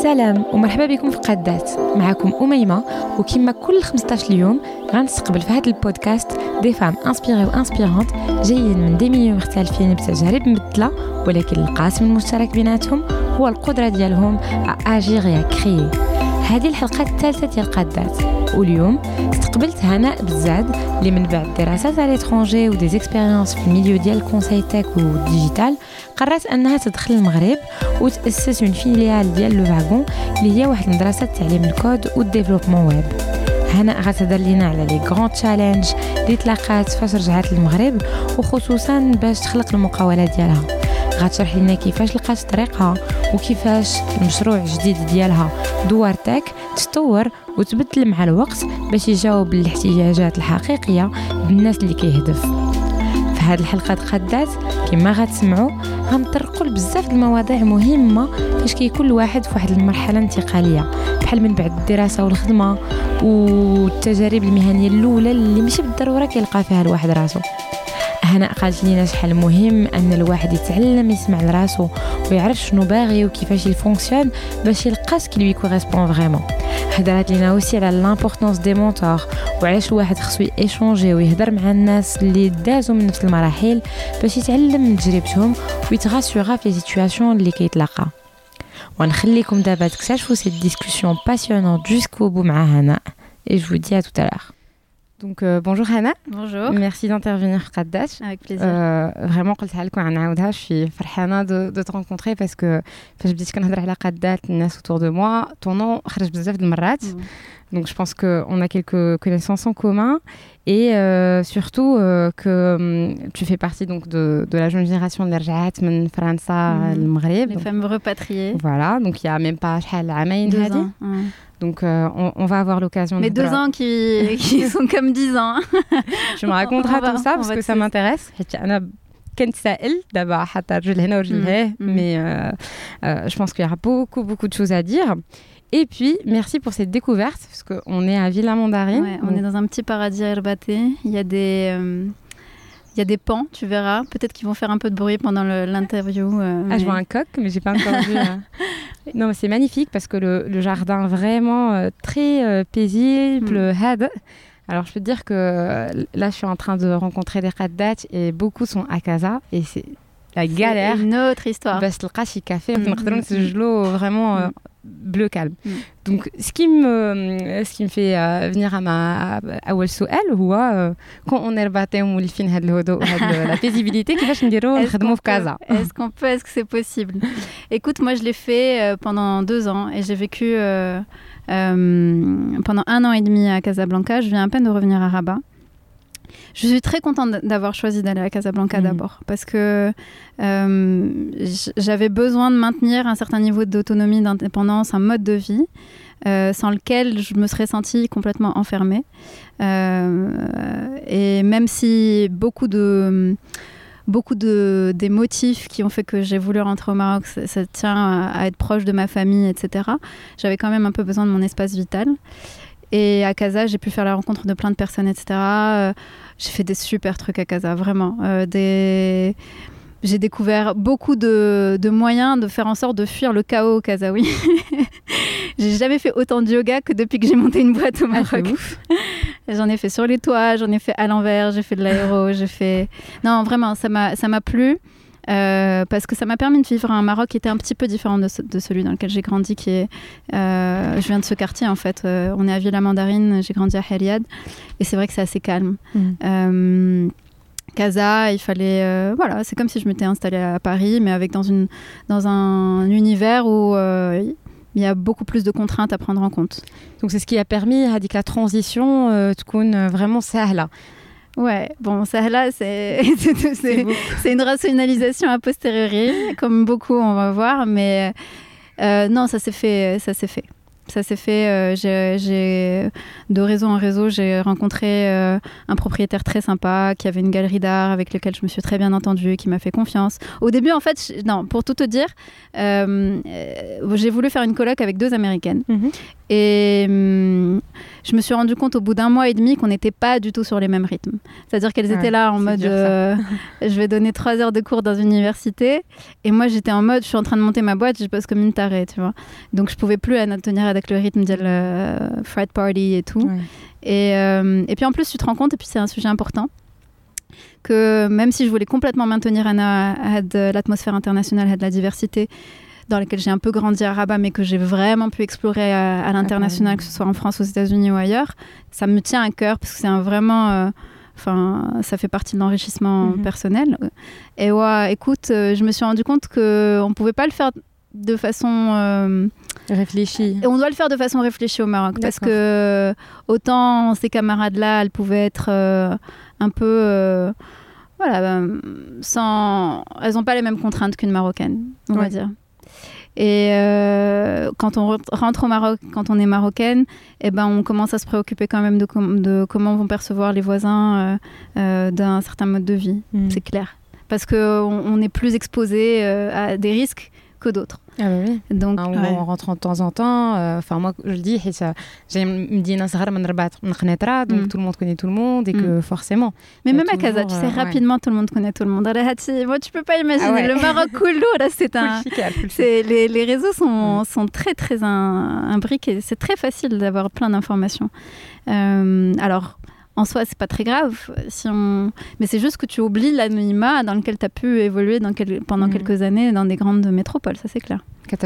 سلام ومرحبا بكم في قادات. معكم أميمة، وكما كل 15 يوم غنستقبل في هذا البودكاست دي فام انسبيري وانسبيرانت جايين من دي ميليو مختلفين بتجارب مبدلة، ولكن القاسم المشترك بيناتهم هو القدرة ديالهم اجيغ يا كريي. هذه الحلقة الثالثة ديال قادات، واليوم استقبلت هناء بزاد اللي من بعد دراسات على ليترونجي ودي زيكسبيريونس في الميليو ديال الكونساي تك والديجيتال قررت انها تدخل المغرب وتاسس اون فيليال ديال لو فاغون اللي هي واحد المدرسه تعليم الكود والديفلوبمون ويب. هناء غتهضر لينا على لي غران تشالنج اللي تلاقات فاش رجعت للمغرب، وخصوصا باش تخلق المقاوله ديالها. غتشرح لنا كيفاش لقات طريقها وكيفاش المشروع الجديد ديالها دوارتك تطور وتبدل مع الوقت باش يجاوب الاحتياجات الحقيقيه بالناس اللي كيهدف. في هذه الحلقه قادات كما غتسمعوا غنطرقوا بزاف المواضيع مهمه فاش كيكون الواحد في واحد المرحله انتقاليه، بحال من بعد الدراسه والخدمه والتجارب المهنيه الاولى اللي ماشي بالضروره كيلقى فيها الواحد راسو. هنا قالت لينا شحال مهم ان الواحد يتعلم يسمع لراسو ويعرف شنو باغي وكيفاش يفونكسيون باش يلقى سكي لوي كوريسبون فريمون. هضرات لينا اوسي على لامبورطونس دي مونتور وعلاش الواحد خصو ايشونجي ويهضر مع الناس اللي دازوا من نفس المراحل باش يتعلم من تجربتهم ويتغاسيوغا في لي سيتوياسيون اللي كيتلاقى. ونخليكم دابا تكتشفوا سيت ديسكوسيون باسيونونت جوسكو بو مع هنا. Et je vous dis à tout à l'heure. Donc bonjour Hana. Bonjour. Merci d'intervenir في قادات. Avec plaisir. Vraiment قلتها لكم غنعاودها. Je suis فرحانة de te rencontrer parce que فاش بديت كنهضر على قادات الناس autour de moi ton nom خرج بزاف د المرات. Donc je pense qu'on a quelques connaissances en commun et surtout que tu fais partie donc de la jeune génération اللي رجعت من فرنسا للمغرب. Les femmes repatriées. Voilà, donc il y a même pas شحال عامين هذه. Donc on va avoir l'occasion mais 2 ans qui sont comme 10 ans. Tu me raconteras tout ça parce que ça m'intéresse. أنا كنت سائل دابا حتى رجل هنا ورجل هنا mais je pense qu'il y aura beaucoup de choses à dire. Et puis, merci pour cette découverte, parce qu'on est à Villa Mandarine. Ouais, on est dans un petit paradis à Herbaté. Il y a des pans, tu verras. Peut-être qu'ils vont faire un peu de bruit pendant l'interview. Je vois un coq, mais j'ai pas encore vu. Non, mais c'est magnifique, parce que le jardin vraiment très paisible, had. Alors, je peux te dire que là, je suis en train de rencontrer des qaddat et beaucoup sont à Casa. Et c'est la galère. C'est une autre histoire. Bas تلقى شي كافي ونقدروا نسجلوا vraiment bleu calme. Donc ce qui me fait venir à أول سؤال هو quand on est رباطي ومولفين هذا الهدوء وهذا la paisibilité كيفاش نديروا نخدموا في كازا. Est-ce que c'est possible? Écoute, moi je l'ai fait pendant 2 ans et j'ai vécu pendant 1 an et demi à Casablanca. Je viens à peine de revenir à Rabat. Je suis très contente d'avoir choisi d'aller à Casablanca d'abord, parce que j'avais besoin de maintenir un certain niveau d'autonomie, d'indépendance, un mode de vie sans lequel je me serais sentie complètement enfermée. Et même si beaucoup des motifs qui ont fait que j'ai voulu rentrer au Maroc, ça tient à être proche de ma famille, etc. J'avais quand même un peu besoin de mon espace vital. Et à Casa, j'ai pu faire la rencontre de plein de personnes, etc. J'ai fait des super trucs à Casa, vraiment. J'ai découvert beaucoup de moyens de faire en sorte de fuir le chaos casaoui. J'ai jamais fait autant de yoga que depuis que j'ai monté une boîte au Maroc. J'en ai fait sur les toits, j'en ai fait à l'envers, j'ai fait de l'aéro, j'ai fait... Non, vraiment, ça m'a plu. Parce que ça m'a permis de vivre un Maroc qui était un petit peu différent de celui dans lequel j'ai grandi, qui est... je viens de ce quartier, en fait. On est à Villa Mandarine, j'ai grandi à Heliad. Et c'est vrai que c'est assez calme. Casa, il fallait... voilà, c'est comme si je m'étais installée à Paris, mais dans un univers où... il y a beaucoup plus de contraintes à prendre en compte. Donc c'est ce qui a permis à la transition تكون vraiment سهلة. Ouais, bon, ça là, c'est une rationalisation a posteriori, comme beaucoup on va voir, mais non, ça s'est fait. Ça s'est fait, de réseau en réseau, j'ai rencontré un propriétaire très sympa qui avait une galerie d'art avec lequel je me suis très bien entendue, qui m'a fait confiance. Au début, en fait, pour tout te dire, j'ai voulu faire une coloc avec 2 Américaines. Et je me suis rendu compte au bout d'un mois et demi qu'on n'était pas du tout sur les mêmes rythmes. C'est-à-dire qu'elles étaient là en mode je vais donner 3 heures de cours dans une université et moi j'étais en mode je suis en train de monter ma boîte, je bosse comme une tarée, tu vois. Donc je pouvais plus tenir avec le rythme de frat party et tout. Et puis en plus tu te rends compte, et puis c'est un sujet important, que même si je voulais complètement maintenir de l'atmosphère internationale, de la diversité dans laquelle j'ai un peu grandi à Rabat, mais que j'ai vraiment pu explorer à l'international, que ce soit en France, aux États-Unis ou ailleurs, ça me tient à cœur parce que c'est vraiment... ça fait partie de l'enrichissement personnel. Et ouais, écoute, je me suis rendu compte qu'on ne pouvait pas le faire de façon... réfléchie. Et on doit le faire de façon réfléchie au Maroc. Parce que autant ces camarades-là, elles pouvaient être un peu... elles n'ont pas les mêmes contraintes qu'une Marocaine, on va dire. Et quand on rentre au Maroc, quand on est marocaine, on commence à se préoccuper quand même de comment vont percevoir les voisins d'un certain mode de vie, c'est clair. Parce qu'on est plus exposé à des risques que d'autres. Ah bah oui. Donc, on rentre de temps en temps. Moi, je le dis, j'ai une Medina Sahara من رباط من قنيطرة, donc tout le monde connaît tout le monde et que forcément. Mais même à Casa, tu sais, rapidement, tout le monde connaît tout le monde. Moi, tu peux pas imaginer. Le Maroc cool, là, les réseaux sont très, très imbriqués. C'est très facile d'avoir plein d'informations. Alors, en soi, c'est pas très grave, mais c'est juste que tu oublies l'anonymat dans lequel tu as pu évoluer pendant quelques années dans des grandes métropoles, ça c'est clair.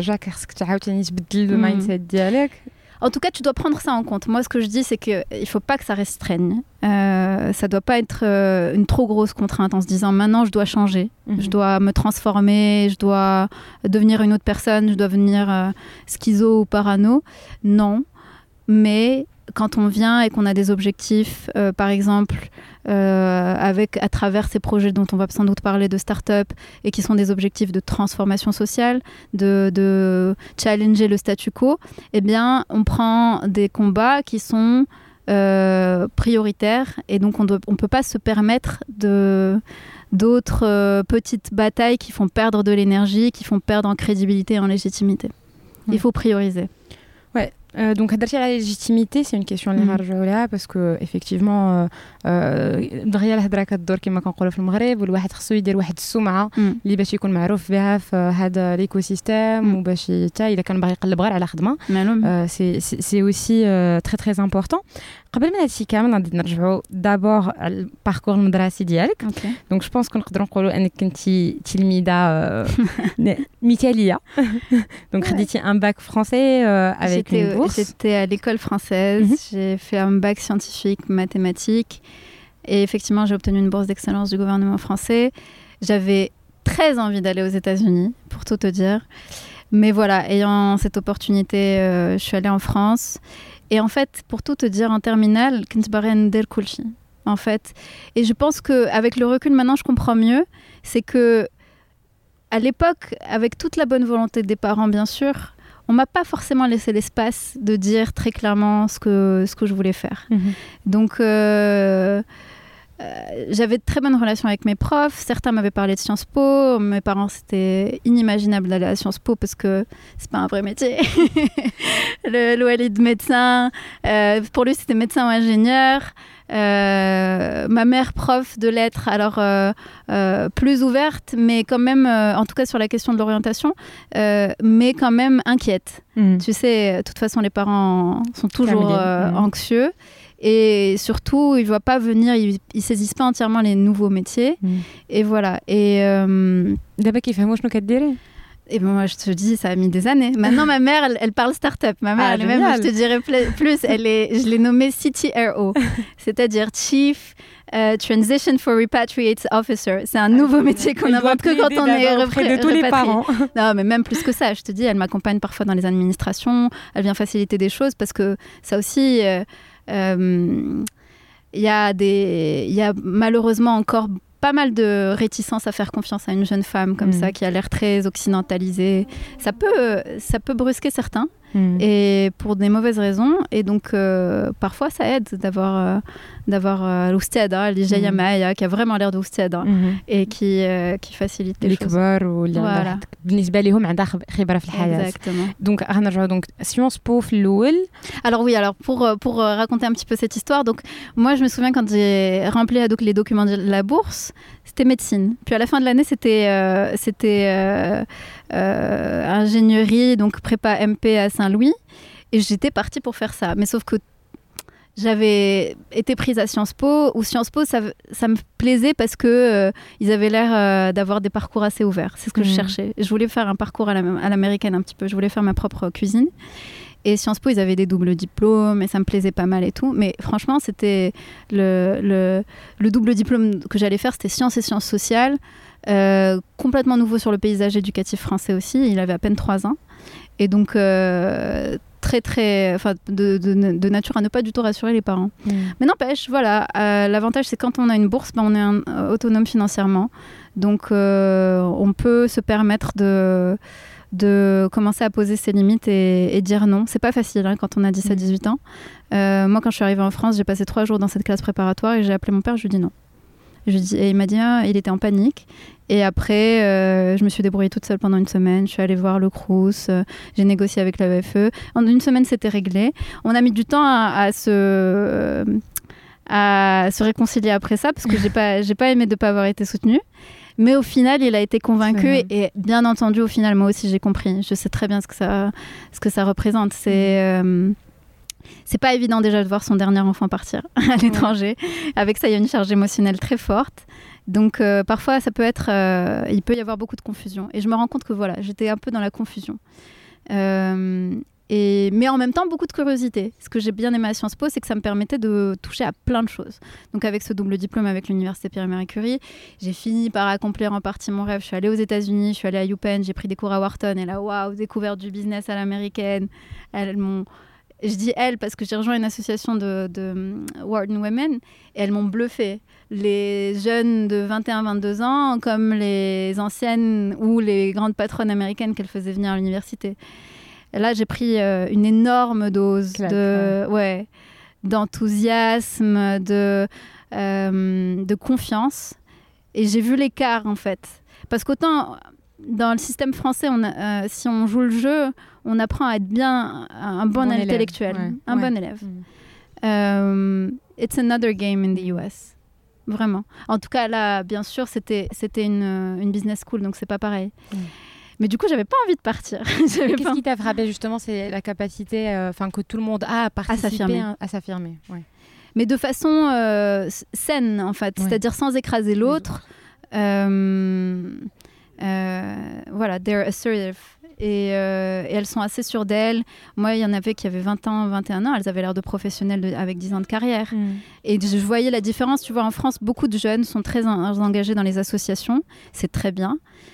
En tout cas, tu dois prendre ça en compte. Moi, ce que je dis, c'est qu'il ne faut pas que ça restreigne. Ça ne doit pas être une trop grosse contrainte en se disant maintenant, je dois changer, je dois me transformer, je dois devenir une autre personne, je dois devenir schizo ou parano. Non, mais quand on vient et qu'on a des objectifs, par exemple, à travers ces projets dont on va sans doute parler de start-up et qui sont des objectifs de transformation sociale, de challenger le statu quo, on prend des combats qui sont prioritaires et donc on ne peut pas se permettre d'autres petites batailles qui font perdre de l'énergie, qui font perdre en crédibilité et en légitimité. Il faut prioriser. Ouais. Donc la légitimité, c'est une question اللي نرجعوا لها parce que effectivement دغيا الهضره كدور كما كنقولوا في المغرب والواحد خصو يدير واحد السمعه اللي باش يكون معروف بها في هذا ليكو سيستيم وباش حتى الا كان باغي يقلب غير على خدمه سي اوسي تري تري امبورطون. قبل ما هادشي كامل غادي نرجعوا دابور على الباركور المدرسي ديالك. دونك جو بونس كنقدروا نقولوا انك كنتي تلميذه مثاليه. دونك خديتي ان باك فرونسي avec une bourse. J'étais à l'école française, j'ai fait un bac scientifique, mathématiques et effectivement j'ai obtenu une bourse d'excellence du gouvernement français. J'avais très envie d'aller aux États-Unis, pour tout te dire. Mais voilà, ayant cette opportunité, je suis allée en France. Et en fait, pour tout te dire, en terminale, en fait. Et je pense qu'avec le recul, maintenant, je comprends mieux. C'est que, à l'époque, avec toute la bonne volonté des parents, bien sûr, on m'a pas forcément laissé l'espace de dire très clairement ce que je voulais faire. Donc, j'avais de très bonnes relations avec mes profs. Certains m'avaient parlé de Sciences Po. Mes parents, c'était inimaginable d'aller à Sciences Po parce que c'est pas un vrai métier. le Walid médecin, pour lui, c'était médecin ou ingénieur. Ma mère prof de lettres, alors plus ouverte, mais quand même, en tout cas sur la question de l'orientation, mais quand même inquiète. Tu sais, de toute façon, les parents sont toujours anxieux. Et surtout, ils ne voient pas venir, ils ne saisissent pas entièrement les nouveaux métiers. Et voilà. Et d'abord, qu'il fait moi, je ne sais pas. Et moi, je te dis, ça a mis des années. Maintenant, ma mère, elle parle start-up. Ma mère, elle-même, je te dirais plus, je l'ai nommée CTRO, c'est-à-dire Chief Transition for Repatriates Officer. C'est un nouveau métier qu'on invente que quand on est auprès de tous les parents. Non, mais même plus que ça. Je te dis, elle m'accompagne parfois dans les administrations. Elle vient faciliter des choses parce que ça aussi... il y a malheureusement encore pas mal de réticence à faire confiance à une jeune femme comme ça qui a l'air très occidentalisée. Ça peut brusquer certains. et pour des mauvaises raisons. Et donc, parfois, ça aide d'avoir l'oustad, l'Ijaya Maya, qui a vraiment l'air d'oustad, et qui facilite les choses. Voilà. بالنسبة لهم عندها خبرة في الحياة. Exactement. Donc, غنرجعوا donc Sciences Po في الأول. Alors oui, pour raconter un petit peu cette histoire, donc moi je me souviens quand j'ai rempli donc les documents de la bourse, c'était médecine. Puis à la fin de l'année, c'était ingénierie, donc prépa MP à Saint-Louis, et j'étais partie pour faire ça. Mais sauf que j'avais été prise à Sciences Po, où Sciences Po, ça me plaisait parce que ils avaient l'air d'avoir des parcours assez ouverts. C'est ce que je cherchais. Je voulais faire un parcours à l'américaine un petit peu. Je voulais faire ma propre cuisine. Et Sciences Po, ils avaient des doubles diplômes et ça me plaisait pas mal et tout. Mais franchement, c'était le double diplôme que j'allais faire, c'était sciences et sciences sociales. Complètement nouveau sur le paysage éducatif français aussi. Il avait à peine 3 ans. Et donc... de nature à ne pas du tout rassurer les parents. Mais n'empêche, voilà, l'avantage c'est quand on a une bourse, on est autonome financièrement. Donc on peut se permettre de commencer à poser ses limites et dire non. C'est pas facile quand on a 10 à 18 ans. Moi, quand je suis arrivée en France, j'ai passé 3 jours dans cette classe préparatoire et j'ai appelé mon père, je lui ai dit non. Et il m'a dit, il était en panique. Et après, je me suis débrouillée toute seule pendant une semaine. Je suis allée voir le Crous, j'ai négocié avec l'AEFE. En une semaine, c'était réglé. On a mis du temps à se réconcilier après ça, parce que j'ai pas aimé de ne pas avoir été soutenue. Mais au final, il a été convaincu. Et bien entendu, au final, moi aussi, j'ai compris. Je sais très bien ce que ça représente. C'est pas évident déjà de voir son dernier enfant partir à l'étranger. Avec ça, il y a une charge émotionnelle très forte. Donc parfois, ça peut être, il peut y avoir beaucoup de confusion. Et je me rends compte que voilà, j'étais un peu dans la confusion. Mais en même temps, beaucoup de curiosité. Ce que j'ai bien aimé à Sciences Po, c'est que ça me permettait de toucher à plein de choses. Donc avec ce double diplôme avec l'université Pierre-Marie Curie, j'ai fini par accomplir en partie mon rêve. Je suis allée aux États-Unis, je suis allée à UPenn, j'ai pris des cours à Wharton. Et là, waouh, découverte du business à l'américaine. Je dis elles parce que j'ai rejoint une association de Wharton Women et elles m'ont bluffée. Les jeunes de 21-22 ans comme les anciennes ou les grandes patronnes américaines qu'elles faisaient venir à l'université. Et là, j'ai pris une énorme dose d'enthousiasme, de confiance. Et j'ai vu l'écart, en fait. Parce qu'autant... Dans le système français, si on joue le jeu, on apprend à être bien un bon intellectuel, bon élève. It's another game in the US. Vraiment. En tout cas, là, bien sûr, c'était une business school, donc c'est pas pareil. Mais du coup, j'avais pas envie de partir. Qu'est-ce qui t'a frappé justement? C'est la capacité que tout le monde a à participer, à s'affirmer. Ouais. Mais de façon saine, en fait. C'est-à-dire sans écraser l'autre. Voilà, they're assertive. Et elles sont assez sûres d'elles. Moi, il y en avait qui avaient 20 ans, 21 ans. Elles avaient l'air de professionnelles avec 10 ans de carrière. Et je voyais la différence. Tu vois, en France, beaucoup de jeunes sont très engagés dans les associations. C'est très bien.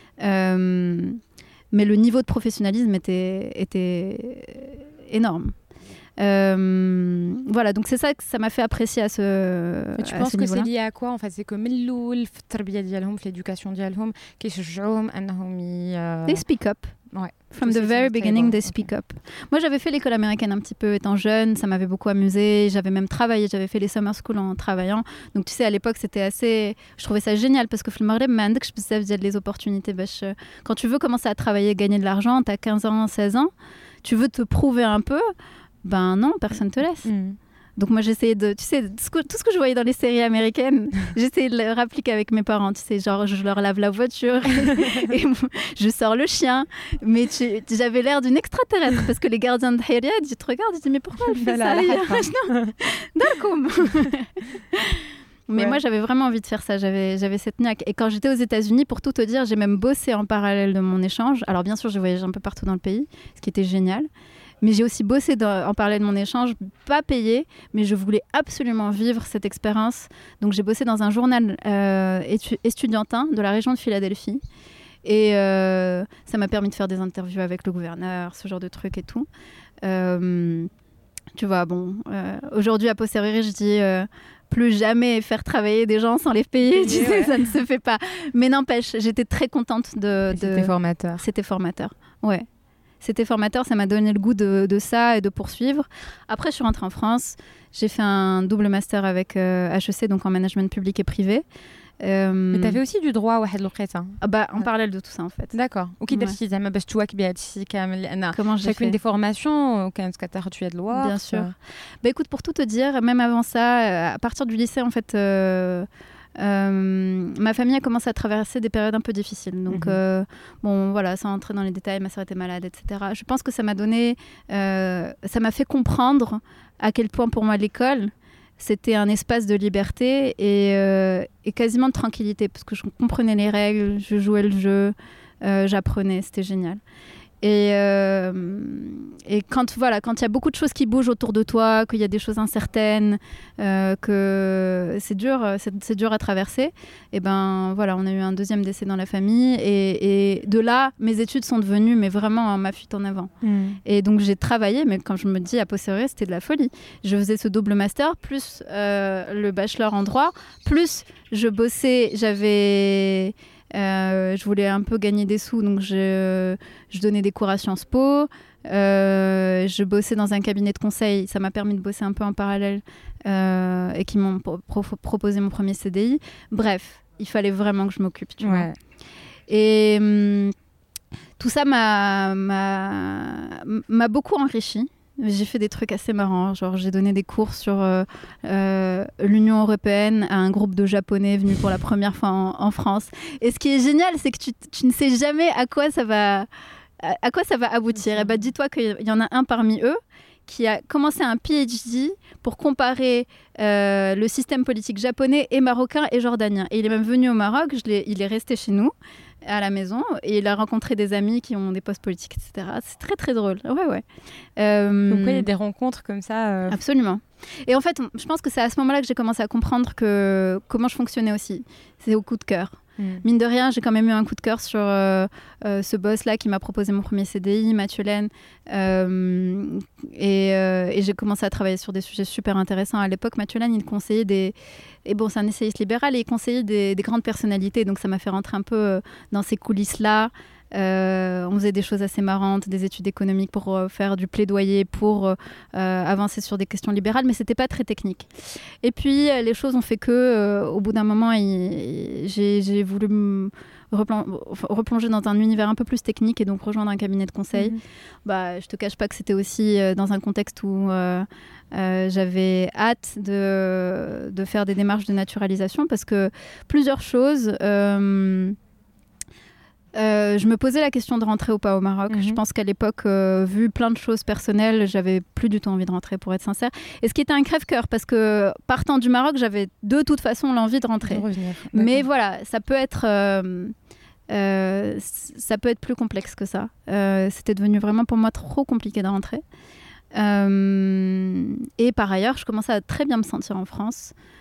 Mais le niveau de professionnalisme était énorme. Voilà, donc c'est ça que ça m'a fait apprécier à ce tu penses que c'est lié à quoi en fait? C'est que من الأول في التربية ديالهم في l'éducation ديالهم كيشجعوهم أنهم They speak up. Ouais. From the very beginning, they speak up. Moi, j'avais fait l'école américaine un petit peu étant jeune, ça m'avait beaucoup amusée. J'avais même travaillé, j'avais fait les summer school en travaillant. Donc, tu sais, à l'époque, c'était assez... Je trouvais ça génial parce que في المغرب ما عندكش بزاف ديال les opportunités. Quand tu veux commencer à travailler, gagner de l'argent, t'as 15 ans, 16 ans, tu veux te prouver un peu, ben non, personne te laisse. Donc moi j'essayais de, tu sais, tout ce que je voyais dans les séries américaines, j'essayais de le répliquer avec mes parents, tu sais, genre je leur lave la voiture et je sors le chien, mais j'avais l'air d'une extraterrestre parce que les gardiens de Hayriad, ils te regardent, ils disent mais pourquoi elle fait ça? Mais moi j'avais vraiment envie de faire ça, j'avais cette niaque. Et quand j'étais aux États-Unis, pour tout te dire, j'ai même bossé en parallèle de mon échange. Alors bien sûr, j'ai voyagé un peu partout dans le pays, ce qui était génial. Mais j'ai aussi bossé en parallèle de mon échange, pas payé, mais je voulais absolument vivre cette expérience. Donc j'ai bossé dans un journal estudiantin de la région de Philadelphie. Et ça m'a permis de faire des interviews avec le gouverneur, ce genre de trucs et tout. Tu vois, bon, aujourd'hui, a posteriori, je dis plus jamais faire travailler des gens sans les payer. Tu sais, ça ne se fait pas. Mais n'empêche, j'étais très contente de... C'était formateur. C'était formateur, ouais. c'était formateur, ça m'a donné le goût de ça et de poursuivre. Après, je suis rentrée en France, j'ai fait un double master avec HEC, donc en management public et privé. Mais tu avais aussi du droit واحد الوقيته. En parallèle de tout ça en fait. D'accord. وكي درتي زعما باش تواكبي هادشي كامل لان chacune des formations كانت كتاخذ شويه de loi. Bien sûr. Écoute, pour tout te dire, même avant ça, à partir du lycée en fait ma famille a commencé à traverser des périodes un peu difficiles. Donc, bon, voilà, sans entrer dans les détails, ma sœur était malade, etc. Je pense que ça m'a donné, ça m'a fait comprendre à quel point pour moi l'école, c'était un espace de liberté et quasiment de tranquillité, parce que je comprenais les règles, je jouais le jeu, j'apprenais, c'était génial. Et quand il y a beaucoup de choses qui bougent autour de toi, qu'il y a des choses incertaines, que c'est dur à traverser, et ben voilà, on a eu un deuxième décès dans la famille et de là, mes études sont devenues mais vraiment ma fuite en avant. Et donc j'ai travaillé, mais quand je me dis a posteriori, c'était de la folie. Je faisais ce double master plus le bachelor en droit, plus je bossais, je voulais un peu gagner des sous, donc je donnais des cours à Sciences Po, je bossais dans un cabinet de conseil, ça m'a permis de bosser un peu en parallèle et qui m'ont proposé mon premier CDI. Bref, il fallait vraiment que je m'occupe, tu vois. Et tout ça m'a beaucoup enrichi. J'ai fait des trucs assez marrants, genre j'ai donné des cours sur l'Union européenne à un groupe de Japonais venus pour la première fois en France. Et ce qui est génial, c'est que tu ne sais jamais à quoi ça va aboutir. Et bah, dis-toi qu'il y en a un parmi eux qui a commencé un PhD pour comparer le système politique japonais et marocain et jordanien. Et il est même venu au Maroc, il est resté chez nous, à la maison, et il a rencontré des amis qui ont des postes politiques, etc. C'est très très drôle. Ouais. Donc il y a des rencontres comme ça. Absolument. Et en fait, je pense que c'est à ce moment-là que j'ai commencé à comprendre comment je fonctionnais aussi. C'est au coup de cœur. Mine de rien, j'ai quand même eu un coup de cœur sur ce boss-là qui m'a proposé mon premier CDI, Mathieu Laine. Et j'ai commencé à travailler sur des sujets super intéressants. À l'époque, Mathieu Laine, il conseillait Et bon, c'est un essayiste libéral et il conseillait des grandes personnalités. Donc ça m'a fait rentrer un peu dans ces coulisses-là. On faisait des choses assez marrantes, des études économiques pour faire du plaidoyer, pour avancer sur des questions libérales, mais c'était pas très technique. Et puis les choses ont fait que, au bout d'un moment, j'ai voulu me replonger dans un univers un peu plus technique et donc rejoindre un cabinet de conseil. Bah, je te cache pas que c'était aussi dans un contexte où j'avais hâte de faire des démarches de naturalisation parce que plusieurs choses. Je me posais la question de rentrer ou pas au Maroc. Je pense qu'à l'époque, vu plein de choses personnelles, j'avais plus du tout envie de rentrer, pour être sincère. Et ce qui était un crève-cœur, parce que partant du Maroc, j'avais de toute façon l'envie de rentrer. Mais voilà, ça peut être plus complexe que ça. C'était devenu vraiment pour moi trop compliqué de rentrer. Et par ailleurs, je commençais à très bien me sentir en France.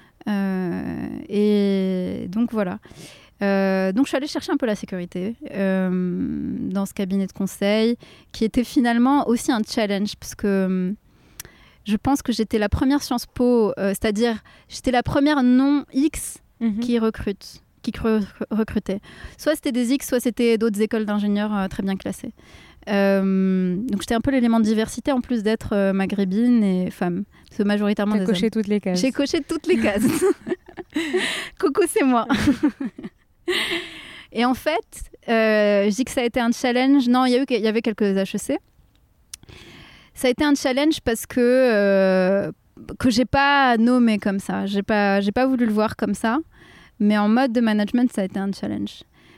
Et donc voilà. Donc je suis allée chercher un peu la sécurité dans ce cabinet de conseil qui était finalement aussi un challenge parce que je pense que j'étais la première Sciences Po, c'est-à-dire j'étais la première non X qui recrutait. Soit c'était des X, soit c'était d'autres écoles d'ingénieurs très bien classées. Donc j'étais un peu l'élément de diversité en plus d'être maghrébine et femme. C'est majoritairement des hommes. J'ai coché toutes les cases. J'ai coché toutes les cases. Coucou, c'est moi. Et en fait, je dis que ça a été un challenge. Non, il y avait quelques HEC. Ça a été un challenge parce que j'ai pas nommé comme ça. J'ai pas voulu le voir comme ça. Mais en mode de management, ça a été un challenge.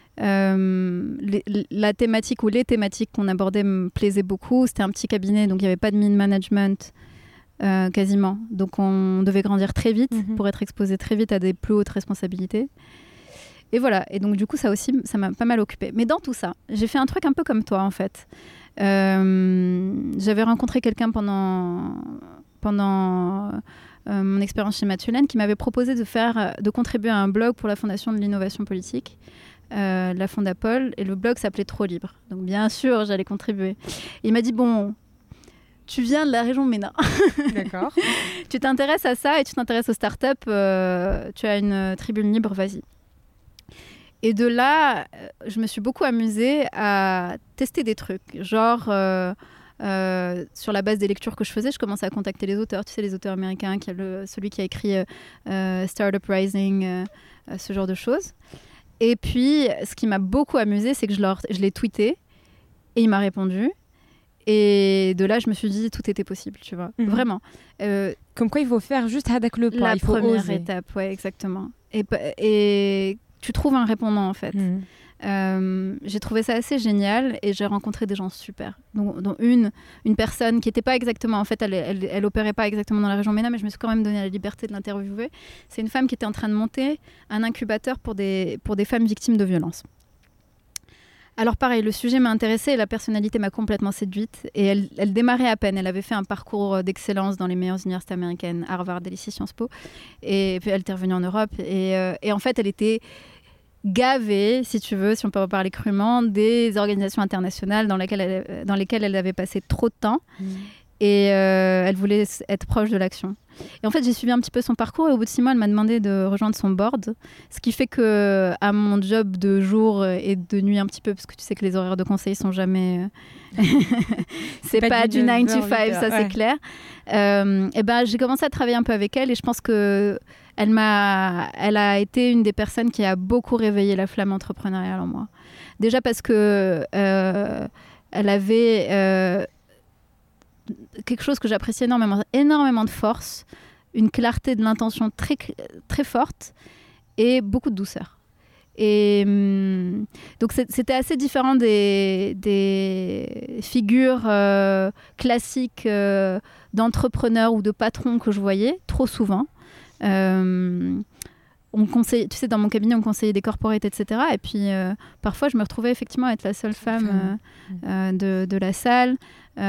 La thématique ou les thématiques qu'on abordait me plaisaient beaucoup. C'était un petit cabinet, donc il n'y avait pas de mid-management quasiment. Donc on devait grandir très vite pour être exposé très vite à des plus hautes responsabilités. Et voilà, et donc du coup ça aussi, ça m'a pas mal occupée. Mais dans tout ça, j'ai fait un truc un peu comme toi en fait. J'avais rencontré quelqu'un pendant mon expérience chez Mathieu Laine qui m'avait proposé de contribuer à un blog pour la Fondation de l'innovation politique, la Fondapol, et le blog s'appelait Trop Libre. Donc bien sûr, j'allais contribuer. Et il m'a dit, bon, tu viens de la région Ménin. D'accord. Tu t'intéresses à ça et tu t'intéresses aux startups, tu as une tribune libre, vas-y. Et de là, je me suis beaucoup amusée à tester des trucs. Genre, sur la base des lectures que je faisais, je commençais à contacter les auteurs. Tu sais, les auteurs américains, celui qui a écrit Startup Rising, ce genre de choses. Et puis, ce qui m'a beaucoup amusée, c'est que je l'ai tweeté et il m'a répondu. Et de là, je me suis dit, tout était possible, tu vois. Vraiment. Comme quoi, il faut faire juste hadak le pas. La il faut première oser. étape, ouais, exactement. Et tu trouves un répondant, en fait. J'ai trouvé ça assez génial et j'ai rencontré des gens super. Dont une personne qui n'était pas exactement, en fait, elle opérait pas exactement dans la région MENA, mais je me suis quand même donné la liberté de l'interviewer. C'est une femme qui était en train de monter un incubateur pour des femmes victimes de violences. Alors pareil, le sujet m'a intéressée et la personnalité m'a complètement séduite. Et elle démarrait à peine. Elle avait fait un parcours d'excellence dans les meilleures universités américaines, Harvard et ici Sciences Po. Et puis elle était revenue en Europe. Et en fait, elle était gavée, si tu veux, si on peut en parler crûment, des organisations internationales dans lesquelles elle avait passé trop de temps. Et elle voulait être proche de l'action. Et en fait, j'ai suivi un petit peu son parcours et au bout de 6 mois, elle m'a demandé de rejoindre son board. Ce qui fait que à mon job de jour et de nuit un petit peu, parce que tu sais que les horaires de conseil sont jamais... c'est pas du 9 to 5, ça c'est clair. Et ben, j'ai commencé à travailler un peu avec elle et je pense que elle a été une des personnes qui a beaucoup réveillé la flamme entrepreneuriale en moi. Déjà parce que elle avait... quelque chose que j'apprécie énormément de force, une clarté de l'intention très, très forte et beaucoup de douceur. Et donc c'était assez différent des figures classiques d'entrepreneurs ou de patrons que je voyais trop souvent. On conseille, tu sais, dans mon cabinet, on conseillait des corporates, etc. Et puis, parfois, je me retrouvais effectivement être la seule femme de la salle.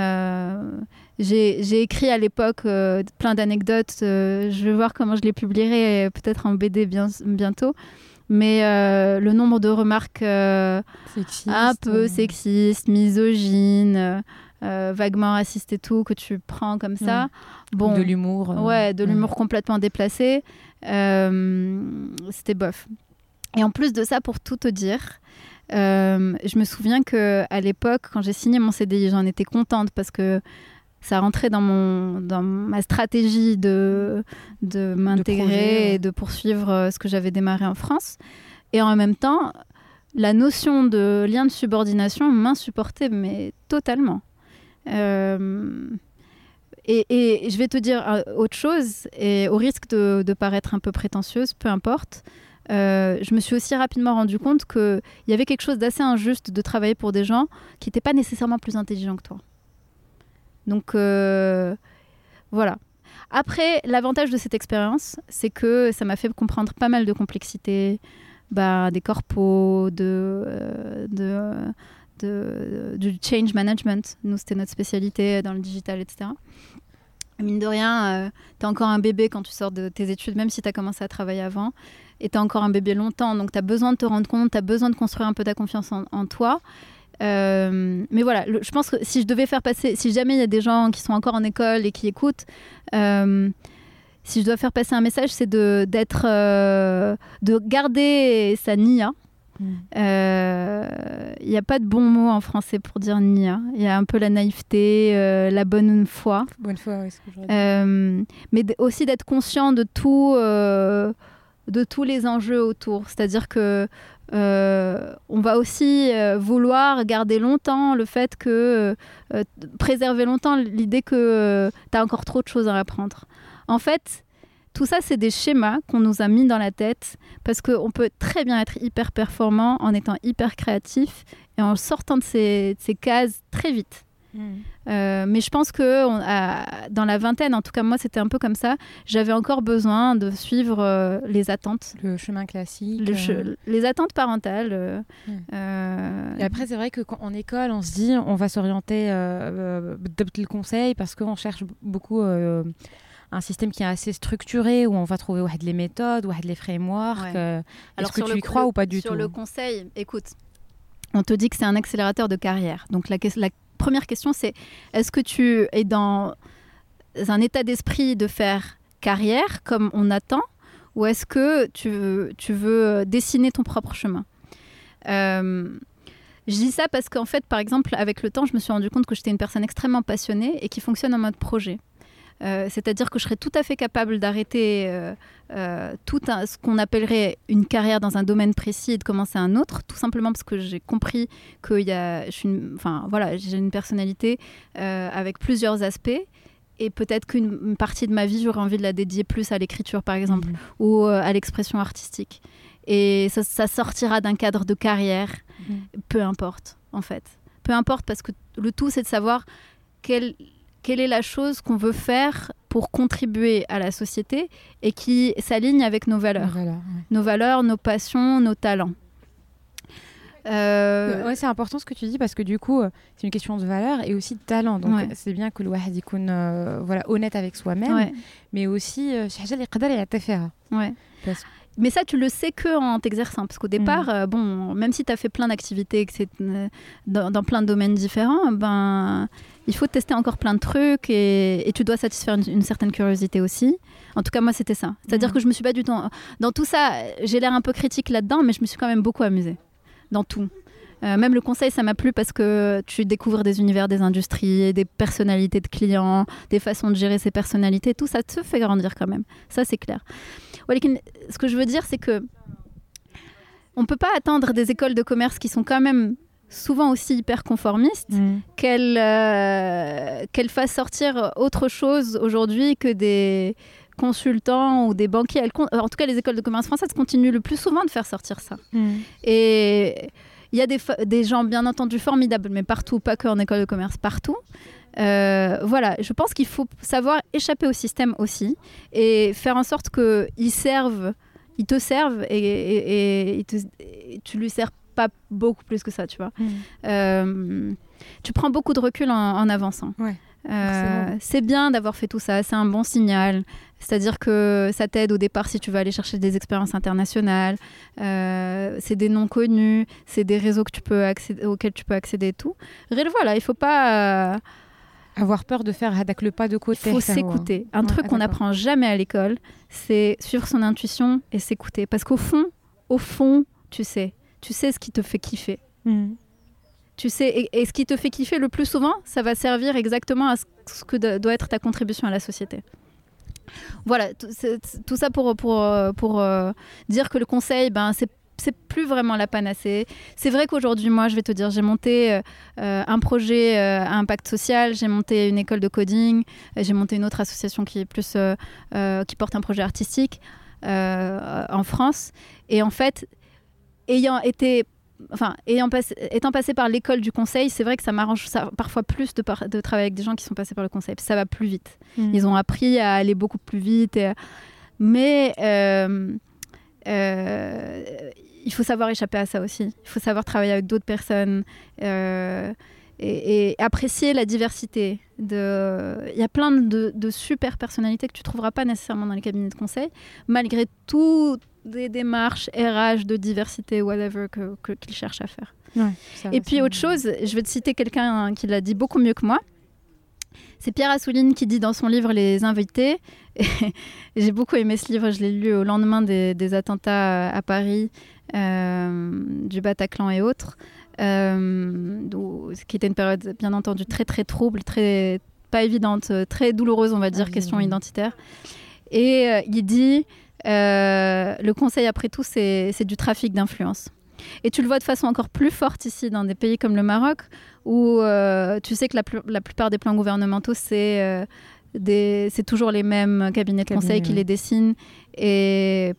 J'ai écrit à l'époque plein d'anecdotes. Je vais voir comment je les publierai, peut-être en BD bientôt. Mais le nombre de remarques un peu sexistes, misogynes, vaguement racistes et tout, que tu prends comme ça. Bon, de l'humour. Ouais, de l'humour complètement déplacé. C'était bof. Et en plus de ça, pour tout te dire, je me souviens qu'à l'époque, quand j'ai signé mon CDI, j'en étais contente parce que ça rentrait dans ma stratégie de m'intégrer et de poursuivre ce que j'avais démarré en France. Et en même temps, la notion de lien de subordination m'insupportait, mais totalement. Et je vais te dire autre chose, et au risque de paraître un peu prétentieuse, peu importe, je me suis aussi rapidement rendu compte qu'il y avait quelque chose d'assez injuste de travailler pour des gens qui n'étaient pas nécessairement plus intelligents que toi. Donc, voilà. Après, l'avantage de cette expérience, c'est que ça m'a fait comprendre pas mal de complexité, des corpos, du change management. Nous, c'était notre spécialité dans le digital, etc. Mine de rien, t'es encore un bébé quand tu sors de tes études, même si t'as commencé à travailler avant. Et t'es encore un bébé longtemps, donc t'as besoin de te rendre compte, t'as besoin de construire un peu ta confiance en toi. Mais voilà, je pense que si jamais il y a des gens qui sont encore en école et qui écoutent, si je dois faire passer un message, c'est de garder sa nia. Il n'y a pas de bon mot en français pour dire nia. Il y a un peu la naïveté, la bonne foi. Bonne foi, oui, c'est ce que je veux dire. Mais aussi d'être conscient de tous les enjeux autour. C'est-à-dire que on va aussi vouloir garder longtemps le fait que préserver longtemps l'idée que tu as encore trop de choses à apprendre. En fait, tout ça, c'est des schémas qu'on nous a mis dans la tête parce qu'on peut très bien être hyper performant en étant hyper créatif et en sortant de ces cases très vite. Mais je pense que dans la vingtaine, en tout cas moi c'était un peu comme ça, j'avais encore besoin de suivre les attentes, le chemin classique, les attentes parentales. Et après c'est vrai qu'en école on se dit on va s'orienter le conseil parce qu'on cherche beaucoup un système qui est assez structuré où on va trouver les méthodes, les frameworks. Alors est-ce que tu y crois ou pas du tout? Sur le conseil, écoute, on te dit que c'est un accélérateur de carrière. Donc la première question, c'est est-ce que tu es dans un état d'esprit de faire carrière comme on attend ou est-ce que tu veux dessiner ton propre chemin? Je dis ça parce qu'en fait, par exemple, avec le temps, je me suis rendu compte que j'étais une personne extrêmement passionnée et qui fonctionne en mode projet. C'est-à-dire que je serais tout à fait capable d'arrêter ce qu'on appellerait une carrière dans un domaine précis et de commencer un autre, tout simplement parce que j'ai compris que j'ai une personnalité avec plusieurs aspects. Et peut-être qu'une partie de ma vie, j'aurais envie de la dédier plus à l'écriture, par exemple, ou à l'expression artistique. Et ça sortira d'un cadre de carrière, peu importe, en fait. Peu importe, parce que le tout, c'est de savoir quelle est la chose qu'on veut faire pour contribuer à la société et qui s'aligne avec nos valeurs. Nos valeurs, nos passions, nos talents. Ouais, c'est important ce que tu dis parce que du coup c'est une question de valeur et aussi de talent, donc c'est bien que le واحد يكون honnête avec soi-même, mais aussi شي حاجه اللي يقدر يعترفها. Mais ça, tu le sais qu'en t'exerçant. Parce qu'au départ, même si tu as fait plein d'activités dans plein de domaines différents, il faut tester encore plein de trucs et tu dois satisfaire une certaine curiosité aussi. En tout cas, moi, c'était ça. C'est-à-dire que je me suis pas du tout... Dans tout ça, j'ai l'air un peu critique là-dedans, mais je me suis quand même beaucoup amusée. Dans tout. Même le conseil, ça m'a plu parce que tu découvres des univers, des industries, des personnalités de clients, des façons de gérer ces personnalités. Tout ça te fait grandir quand même. Ça, c'est clair. Ce que je veux dire, c'est que on peut pas attendre des écoles de commerce qui sont quand même souvent aussi hyper conformistes qu'elles fassent sortir autre chose aujourd'hui que des consultants ou des banquiers. En tout cas, les écoles de commerce françaises continuent le plus souvent de faire sortir ça. Et il y a des gens, bien entendu, formidables, mais partout, pas qu'en école de commerce, partout. Voilà, je pense qu'il faut savoir échapper au système aussi et faire en sorte qu'ils te servent et tu lui sers pas beaucoup plus que ça, tu vois. Tu prends beaucoup de recul en avançant. C'est bien d'avoir fait tout ça, c'est un bon signal. C'est-à-dire que ça t'aide au départ si tu veux aller chercher des expériences internationales. C'est des noms connus, c'est des réseaux auxquels tu peux accéder et tout. Voilà, il faut pas... avoir peur de faire le pas de côté. Il faut s'écouter. Un truc qu'on n'apprend jamais à l'école, c'est suivre son intuition et s'écouter. Parce qu'au fond, tu sais ce qui te fait kiffer. Tu sais, et ce qui te fait kiffer le plus souvent, ça va servir exactement à ce que doit être ta contribution à la société. Voilà, tout ça pour dire que le conseil, c'est plus vraiment la panacée. C'est vrai qu'aujourd'hui, moi, je vais te dire, j'ai monté un projet à impact social, j'ai monté une école de coding, j'ai monté une autre association qui est plus qui porte un projet artistique en France. Et en fait, étant passé par l'école du conseil, c'est vrai que ça m'arrange parfois plus de travailler avec des gens qui sont passés par le conseil. Ça va plus vite. Ils ont appris à aller beaucoup plus vite. Mais il faut savoir échapper à ça aussi. Il faut savoir travailler avec d'autres personnes et apprécier la diversité. Il y a plein de super personnalités que tu ne trouveras pas nécessairement dans les cabinets de conseil, malgré tout des démarches RH de diversité, whatever, qu'ils cherchent à faire. Et puis autre chose, je vais te citer quelqu'un qui l'a dit beaucoup mieux que moi. C'est Pierre Assouline qui dit dans son livre Les Invités, j'ai beaucoup aimé ce livre, je l'ai lu au lendemain des attentats à Paris, du Bataclan et autres, qui était une période bien entendu très très trouble, très pas évidente, très douloureuse on va dire, question identitaire. Et il dit le conseil après tout c'est du trafic d'influence. Et tu le vois de façon encore plus forte ici dans des pays comme le Maroc où tu sais que la plupart des plans gouvernementaux c'est toujours les mêmes cabinets de conseil qui les dessinent et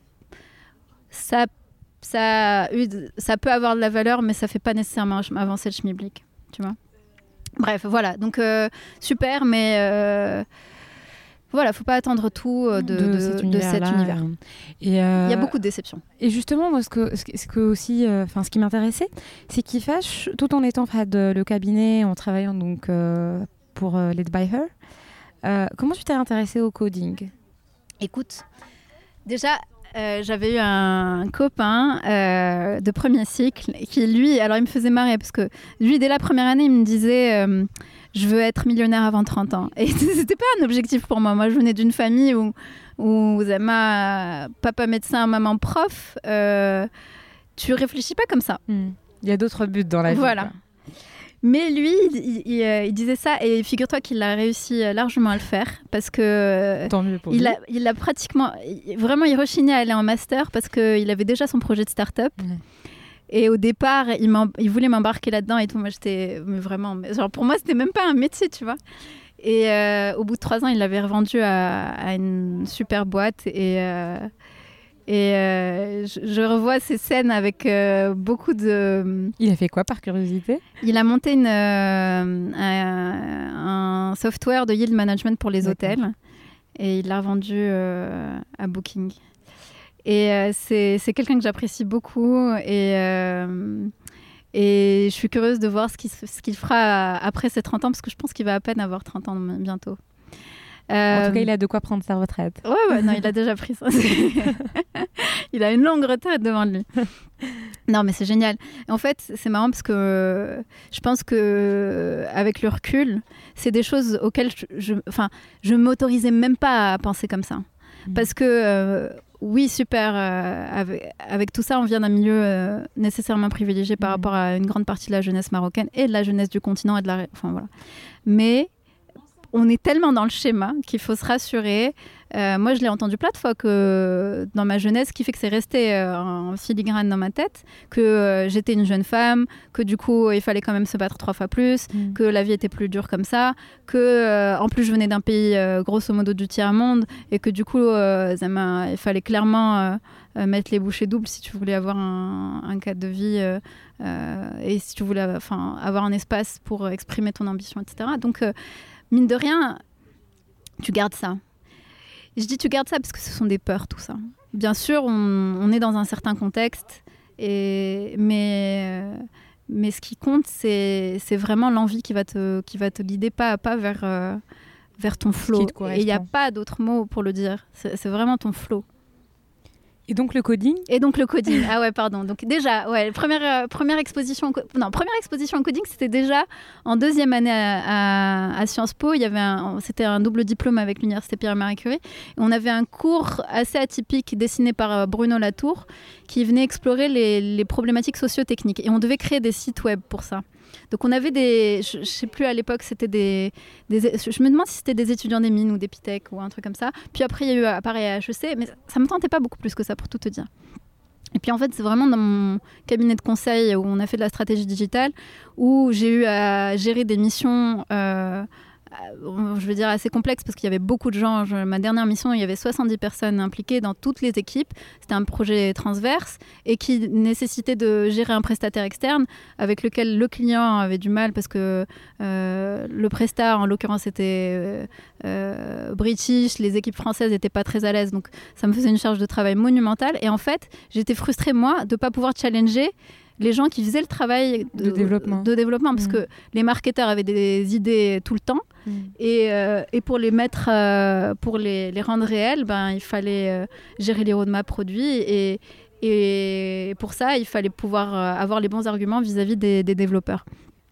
ça peut avoir de la valeur mais ça fait pas nécessairement avancer le schmilblick, tu vois. Bref, voilà, donc super, mais voilà, faut pas attendre tout de cet univers. Et il y a beaucoup de déceptions. Et justement, moi, ce qui m'intéressait, c'est qu'il fâche, tout en étant le cabinet, en travaillant donc pour Led by Her. Comment tu t'es intéressée au coding ? Écoute, déjà, j'avais eu un copain de premier cycle qui, lui, alors il me faisait marrer parce que lui, dès la première année, il me disait je veux être millionnaire avant 30 ans. Et c'était pas un objectif pour moi. Moi, je venais d'une famille où ma papa médecin, maman prof. tu réfléchis pas comme ça. Il y a d'autres buts dans la vie. Voilà. Mais lui, il disait ça, et figure-toi qu'il a réussi largement à le faire, parce que tant mieux pour lui. Il a pratiquement, vraiment, il rechignait à aller en master parce qu'il avait déjà son projet de start-up. Et au départ, il voulait m'embarquer là-dedans et tout. Moi, j'étais vraiment, genre pour moi, c'était même pas un métier, tu vois. Et au bout de 3 ans, il l'avait revendu à une super boîte. Je revois ces scènes avec beaucoup de... Il a fait quoi, par curiosité ? Il a monté un software de yield management pour les hôtels. Et il l'a revendu à Booking. Et c'est quelqu'un que j'apprécie beaucoup. Et je suis curieuse de voir ce qu'il fera après ses 30 ans, parce que je pense qu'il va à peine avoir 30 ans bientôt. En tout cas, il a de quoi prendre sa retraite. Ouais, non, il a déjà pris ça. Il a une longue retraite devant lui. Non, mais c'est génial. En fait, c'est marrant parce que je pense que avec le recul, c'est des choses auxquelles je m'autorisais même pas à penser comme ça. Parce que oui, super, avec tout ça, on vient d'un milieu nécessairement privilégié par rapport à une grande partie de la jeunesse marocaine et de la jeunesse du continent et voilà. Mais on est tellement dans le schéma qu'il faut se rassurer. Moi, je l'ai entendu plein de fois que dans ma jeunesse, ce qui fait que c'est resté en filigrane dans ma tête, que j'étais une jeune femme, que du coup, il fallait quand même se battre 3 fois plus, que la vie était plus dure comme ça, que en plus, je venais d'un pays grosso modo du tiers-monde et que du coup, il fallait clairement mettre les bouchées doubles si tu voulais avoir un cadre de vie et si tu voulais avoir un espace pour exprimer ton ambition, etc. Donc, mine de rien, tu gardes ça. Et je dis tu gardes ça parce que ce sont des peurs, tout ça. Bien sûr, on est dans un certain contexte, mais ce qui compte, c'est vraiment l'envie qui va te guider pas à pas vers ton flow. Et il n'y a pas d'autre mot pour le dire. C'est vraiment ton flow. Et donc le coding ? Ah ouais, pardon. Donc déjà, ouais, première exposition en coding, c'était déjà en 2e année à Sciences Po. C'était un double diplôme avec l'université Pierre-Marie Curie. Et on avait un cours assez atypique dessiné par Bruno Latour qui venait explorer les problématiques socio-techniques. Et on devait créer des sites web pour ça. Donc on avait je sais plus à l'époque, c'était je me demande si c'était des étudiants des mines ou des Pitech ou un truc comme ça. Puis après il y a eu pareil à HEC, mais ça me tentait pas beaucoup plus que ça pour tout te dire. Et puis en fait c'est vraiment dans mon cabinet de conseil où on a fait de la stratégie digitale où j'ai eu à gérer des missions je veux dire assez complexes parce qu'il y avait beaucoup de gens. Ma dernière mission, il y avait 70 personnes impliquées dans toutes les équipes. C'était un projet transverse et qui nécessitait de gérer un prestataire externe avec lequel le client avait du mal parce que le prestat, en l'occurrence, était british. Les équipes françaises n'étaient pas très à l'aise. Donc, ça me faisait une charge de travail monumentale. Et en fait, j'étais frustrée, moi, de ne pas pouvoir challenger les gens qui faisaient le travail de développement parce que les marketeurs avaient des idées tout le temps et pour les mettre, pour les rendre réelles, il fallait gérer les roadmaps produits et pour ça, il fallait pouvoir avoir les bons arguments vis-à-vis des développeurs.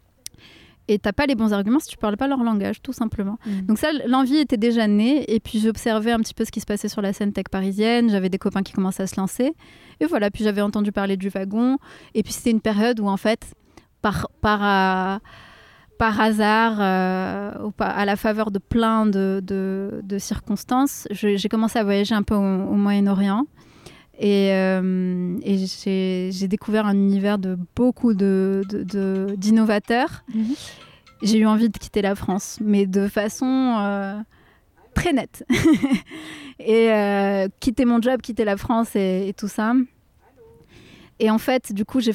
Et t'as pas les bons arguments si tu parles pas leur langage, tout simplement. Donc ça, l'envie était déjà née. Et puis j'observais un petit peu ce qui se passait sur la scène tech parisienne. J'avais des copains qui commençaient à se lancer. Et voilà, puis j'avais entendu parler du wagon. Et puis c'était une période où en fait, par hasard, à la faveur de plein de circonstances, j'ai commencé à voyager un peu au Moyen-Orient. Et j'ai découvert un univers de beaucoup d'innovateurs. J'ai eu envie de quitter la France, mais de façon très nette. Et quitter mon job, quitter la France et tout ça. Et en fait, du coup, ça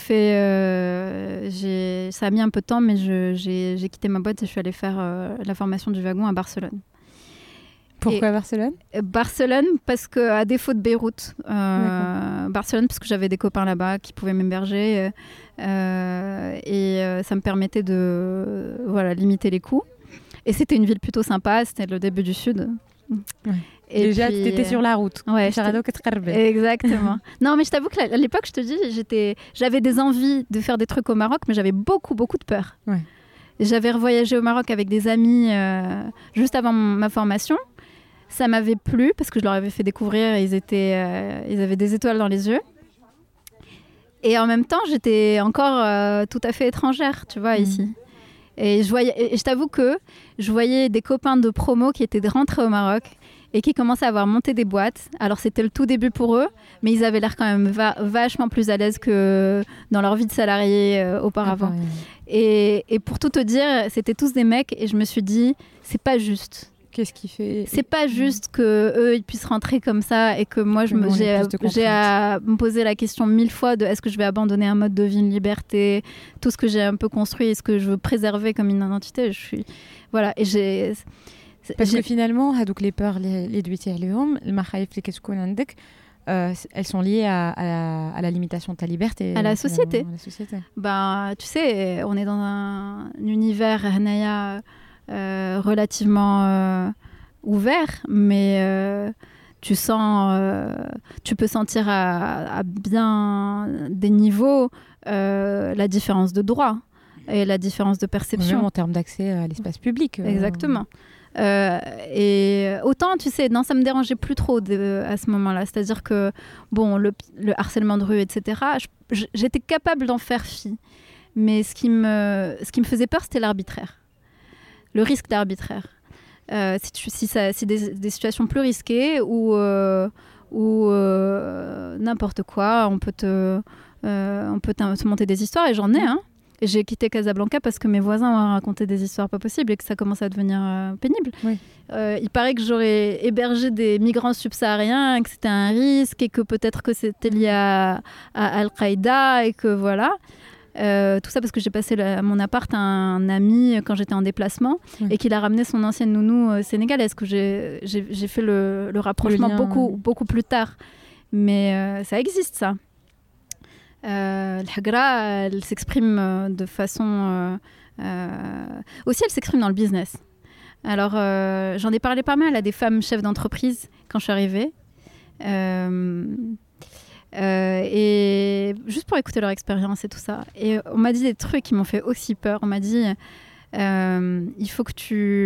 a mis un peu de temps, mais j'ai quitté ma boîte et je suis allée faire la formation du wagon à Barcelone. Pourquoi Barcelone ? Barcelone, parce qu'à défaut de Beyrouth, Barcelone, parce que j'avais des copains là-bas qui pouvaient m'héberger et ça me permettait de limiter les coûts. Et c'était une ville plutôt sympa, c'était le début du sud. Ouais. Et déjà, tu étais sur la route. Ouais, exactement. Non, mais je t'avoue qu'à l'époque, je te dis, j'avais des envies de faire des trucs au Maroc, mais j'avais beaucoup, beaucoup de peur. Ouais. J'avais revoyagé au Maroc avec des amis juste avant ma formation. Ça m'avait plu parce que je leur avais fait découvrir et ils avaient des étoiles dans les yeux. Et en même temps, j'étais encore tout à fait étrangère, tu vois, ici. Et je t'avoue que je voyais des copains de promo qui étaient rentrés au Maroc et qui commençaient à avoir monté des boîtes. Alors, c'était le tout début pour eux, mais ils avaient l'air quand même vachement plus à l'aise que dans leur vie de salarié auparavant. Et pour tout te dire, c'était tous des mecs et je me suis dit, c'est pas juste. Qu'est-ce qui fait... C'est pas juste qu'eux, ils puissent rentrer comme ça et que moi, j'ai à me poser la question 1000 fois de est-ce que je vais abandonner un mode de vie, une liberté, tout ce que j'ai un peu construit et ce que je veux préserver comme une identité. Voilà, et parce que finalement, هذوك les peurs اللي دويتي عليهم المخايف اللي كتكون عندك elles sont liées à la limitation de ta liberté. À la société. Ben, tu sais, on est dans un univers relativement ouvert, mais tu peux sentir à bien des niveaux la différence de droit et la différence de perception. Même en termes d'accès à l'espace public. Exactement. Et autant, tu sais, non, ça me dérangeait plus trop à ce moment-là. C'est-à-dire que, bon, le harcèlement de rue, etc., j'étais capable d'en faire fi. Mais ce qui me faisait peur, c'était l'arbitraire. Le risque d'arbitraire. Si des situations plus risquées où n'importe quoi, on peut te monter des histoires, et j'en ai, hein. J'ai quitté Casablanca parce que mes voisins m'ont raconté des histoires pas possibles et que ça commençait à devenir pénible. Oui. Il paraît que j'aurais hébergé des migrants subsahariens, que c'était un risque et que peut-être que c'était lié à Al-Qaïda et que voilà. Tout ça parce que j'ai passé mon appart à un ami quand j'étais en déplacement et qu'il a ramené son ancienne nounou sénégalaise, que j'ai fait le rapprochement beaucoup plus tard. Mais ça existe, ça. L'hagra, elle s'exprime de façon... aussi, elle s'exprime dans le business. Alors, j'en ai parlé pas mal à des femmes chefs d'entreprise quand je suis arrivée. Et juste pour écouter leur expérience et tout ça. Et on m'a dit des trucs qui m'ont fait aussi peur. On m'a dit, il faut que tu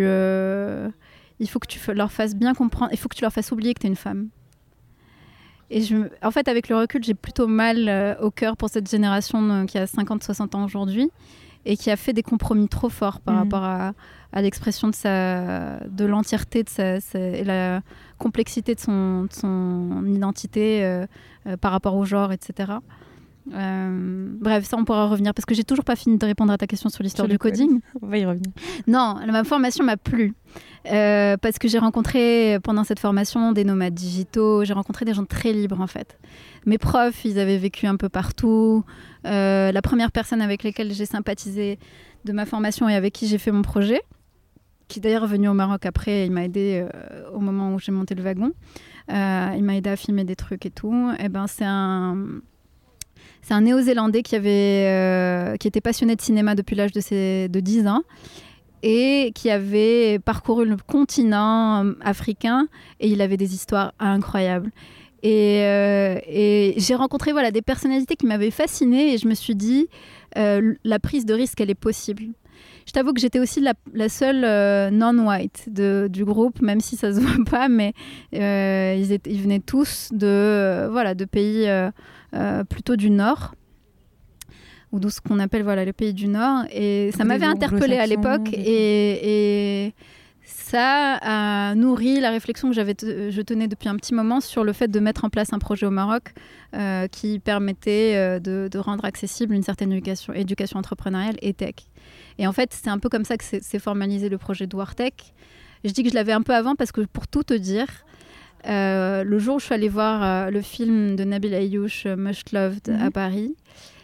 leur fasses bien comprendre, il faut que tu leur fasses oublier que tu es une femme. Et en fait, avec le recul, j'ai plutôt mal au cœur pour cette génération qui a 50-60 ans aujourd'hui et qui a fait des compromis trop forts par rapport à l'expression de l'entièreté et la complexité de son identité par rapport au genre, etc. Bref, ça on pourra revenir parce que j'ai toujours pas fini de répondre à ta question sur l'histoire du coding. On va y revenir. Non, ma formation m'a plu parce que j'ai rencontré pendant cette formation des nomades digitaux, j'ai rencontré des gens très libres en fait. Mes profs, ils avaient vécu un peu partout. La première personne avec laquelle j'ai sympathisé de ma formation et avec qui j'ai fait mon projet, qui d'ailleurs est venu au Maroc après, il m'a aidé au moment où j'ai monté le wagon. Il m'a aidé à filmer des trucs et tout. Et ben c'est un Néo-Zélandais qui était passionné de cinéma depuis l'âge de 10 ans et qui avait parcouru le continent africain et il avait des histoires incroyables. Et j'ai rencontré des personnalités qui m'avaient fascinée et je me suis dit, la prise de risque, elle est possible. Je t'avoue que j'étais aussi la seule non-white du groupe, même si ça se voit pas, mais ils venaient tous de pays plutôt du Nord, ou de ce qu'on appelle les pays du Nord. Et ça m'avait interpellée à l'époque, et ça a nourri la réflexion que je tenais depuis un petit moment sur le fait de mettre en place un projet au Maroc qui permettait de rendre accessible une certaine éducation entrepreneuriale et tech. Et en fait, c'est un peu comme ça que s'est formalisé le projet de Wartech. Je dis que je l'avais un peu avant parce que, pour tout te dire, le jour où je suis allée voir le film de Nabil Ayouch, Most Loved, à Paris,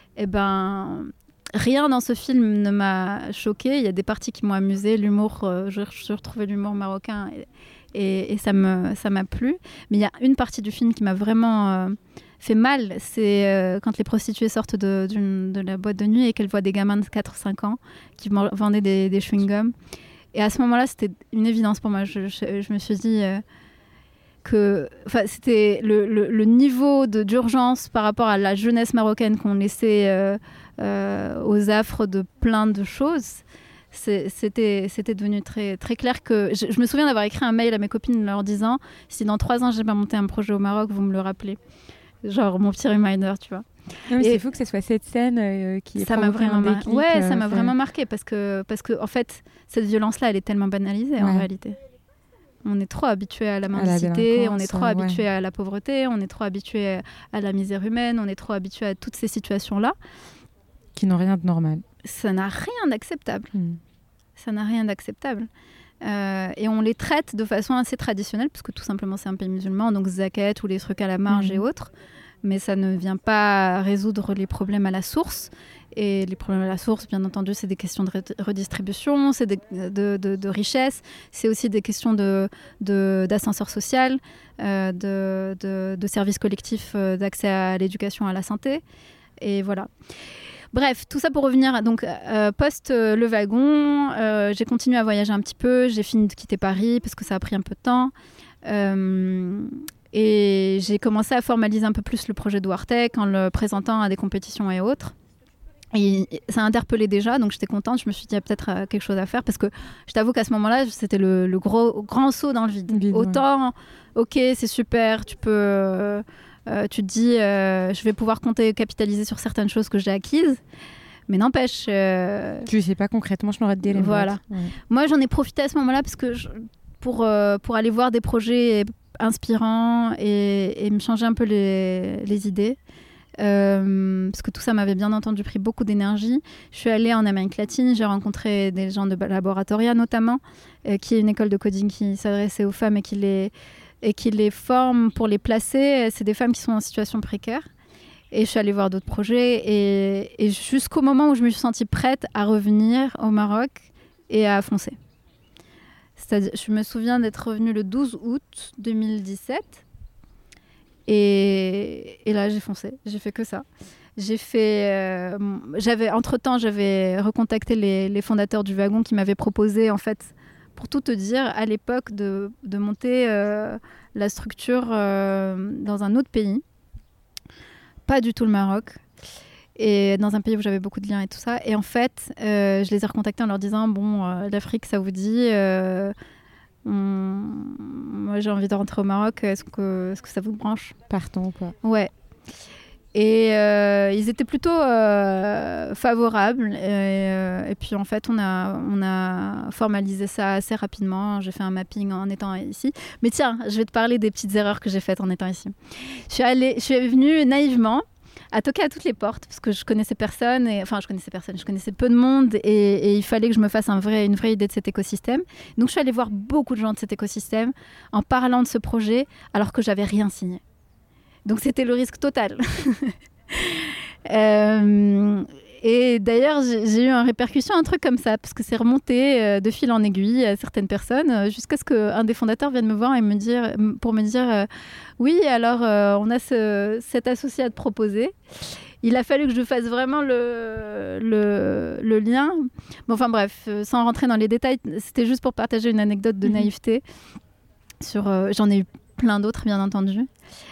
rien dans ce film ne m'a choquée. Il y a des parties qui m'ont amusée. L'humour, j'ai retrouvé l'humour marocain et ça m'a plu. Mais il y a une partie du film qui m'a vraiment fait mal. C'est quand les prostituées sortent de la boîte de nuit et qu'elles voient des gamins de 4-5 ans qui vendaient des chewing-gums. Et à ce moment-là, c'était une évidence pour moi. Je me suis dit que c'était le niveau d'urgence par rapport à la jeunesse marocaine qu'on laissait aux affres de plein de choses. C'était devenu très, très clair que... Je me souviens d'avoir écrit un mail à mes copines leur disant « Si dans 3 ans, j'ai pas monté un projet au Maroc, vous me le rappelez. » Genre mon petit reminder, tu vois. C'est fou que ce soit cette scène qui ça m'a vraiment marqué. Ouais, ça m'a vraiment marqué parce que en fait, cette violence-là, elle est tellement banalisée en réalité. On est trop habitué à la mendicité, on est trop habitué à la pauvreté, on est trop habitué à la misère humaine, on est trop habitué à toutes ces situations-là. Qui n'ont rien de normal. Ça n'a rien d'acceptable. Ça n'a rien d'acceptable. Et on les traite de façon assez traditionnelle, parce que tout simplement c'est un pays musulman, donc zakat ou les trucs à la marge et autres. Mais ça ne vient pas résoudre les problèmes à la source. Et les problèmes à la source, bien entendu, c'est des questions de redistribution, c'est de richesse, c'est aussi des questions d'ascenseur social, de services collectifs d'accès à l'éducation, à la santé. Et voilà. Bref, tout ça pour revenir. Donc, post le wagon, j'ai continué à voyager un petit peu. J'ai fini de quitter Paris parce que ça a pris un peu de temps. Et j'ai commencé à formaliser un peu plus le projet d'Ouartec en le présentant à des compétitions et autres. Et ça a interpellé déjà, donc j'étais contente. Je me suis dit, il y a peut-être quelque chose à faire parce que je t'avoue qu'à ce moment-là, c'était le grand saut dans le vide. Autant, ok, c'est super, tu peux... tu te dis, je vais pouvoir capitaliser sur certaines choses que j'ai acquises. Mais n'empêche... Tu sais pas concrètement, je n'aurais te dire les voilà. Moi, j'en ai profité à ce moment-là parce que pour aller voir des projets inspirants et me changer un peu les idées. Parce que tout ça m'avait bien entendu pris beaucoup d'énergie. Je suis allée en Amérique latine, j'ai rencontré des gens de Laboratoria notamment, qui est une école de coding qui s'adressait aux femmes et qui les forme pour les placer. C'est des femmes qui sont en situation précaire. Et je suis allée voir d'autres projets. Et jusqu'au moment où je me suis sentie prête à revenir au Maroc et à foncer. C'est-à-dire, je me souviens d'être revenue le 12 août 2017. Et là, j'ai foncé. J'ai fait que ça. Entre-temps, j'avais recontacté les fondateurs du wagon qui m'avaient proposé, en fait, pour tout te dire, à l'époque, de monter la structure dans un autre pays. Pas du tout le Maroc. Et dans un pays où j'avais beaucoup de liens et tout ça. Et en fait, je les ai recontactés en leur disant, l'Afrique, ça vous dit moi j'ai envie de rentrer au Maroc, est-ce que ça vous branche? Partons ou pas? Ouais. Et ils étaient plutôt favorables et puis en fait on a formalisé ça assez rapidement. J'ai fait un mapping en étant ici. Mais tiens, je vais te parler des petites erreurs que j'ai faites en étant ici. Je suis venue naïvement à toquer à toutes les portes parce que je connaissais personne, je connaissais peu de monde et il fallait que je me fasse une vraie idée de cet écosystème. Donc je suis allée voir beaucoup de gens de cet écosystème en parlant de ce projet alors que j'avais rien signé. Donc c'était le risque total. Et d'ailleurs, j'ai eu en répercussion un truc comme ça, parce que c'est remonté de fil en aiguille à certaines personnes, jusqu'à ce qu'un des fondateurs vienne me voir et me dire oui, alors on a cet associé à te proposer. Il a fallu que je fasse vraiment le lien. Bon, enfin bref, sans rentrer dans les détails, c'était juste pour partager une anecdote de naïveté. J'en ai eu plein d'autres, bien entendu.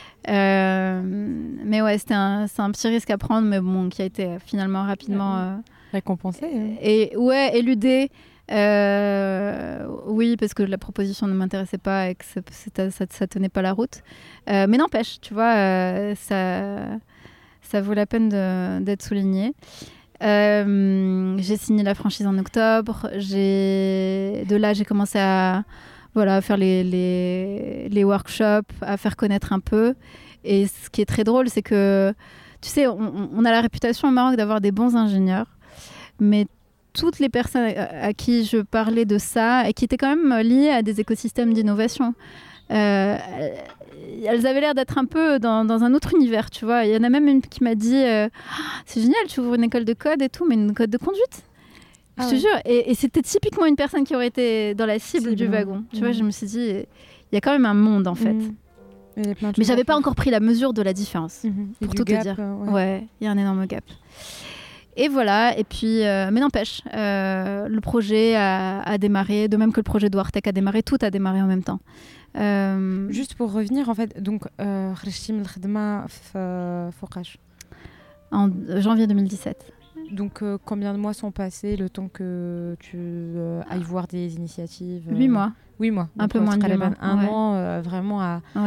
Mais ouais, c'est un petit risque à prendre, mais bon, qui a été finalement rapidement récompensé. Et ouais, éludé. Oui, parce que la proposition ne m'intéressait pas et que ça tenait pas la route. Mais n'empêche, tu vois, ça vaut la peine d'être souligné. J'ai signé la franchise en octobre. De là, j'ai commencé à faire les workshops, à faire connaître un peu. Et ce qui est très drôle, c'est que, tu sais, on a la réputation au Maroc d'avoir des bons ingénieurs, mais toutes les personnes à qui je parlais de ça, et qui étaient quand même liées à des écosystèmes d'innovation, elles avaient l'air d'être un peu dans un autre univers, tu vois. Il y en a même une qui m'a dit c'est génial, tu ouvres une école de code et tout, mais une école de conduite. Je te jure, et c'était typiquement une personne qui aurait été dans la cible du wagon. Tu vois, je me suis dit, il y a quand même un monde en fait. Mais j'avais pas encore pris la mesure de la différence, pour tout te dire. Ouais, il y a un énorme gap. Et voilà, et puis, mais n'empêche, le projet a démarré, de même que le projet d'Ouartec a démarré, tout a démarré en même temps. Juste pour revenir, en fait, donc, خرجتي من الخدمة فوقاش en janvier 2017. Donc, combien de mois sont passés le temps que tu ailles voir des initiatives 8 mois. 8 mois. Un peu moins de 8 mois. Un an vraiment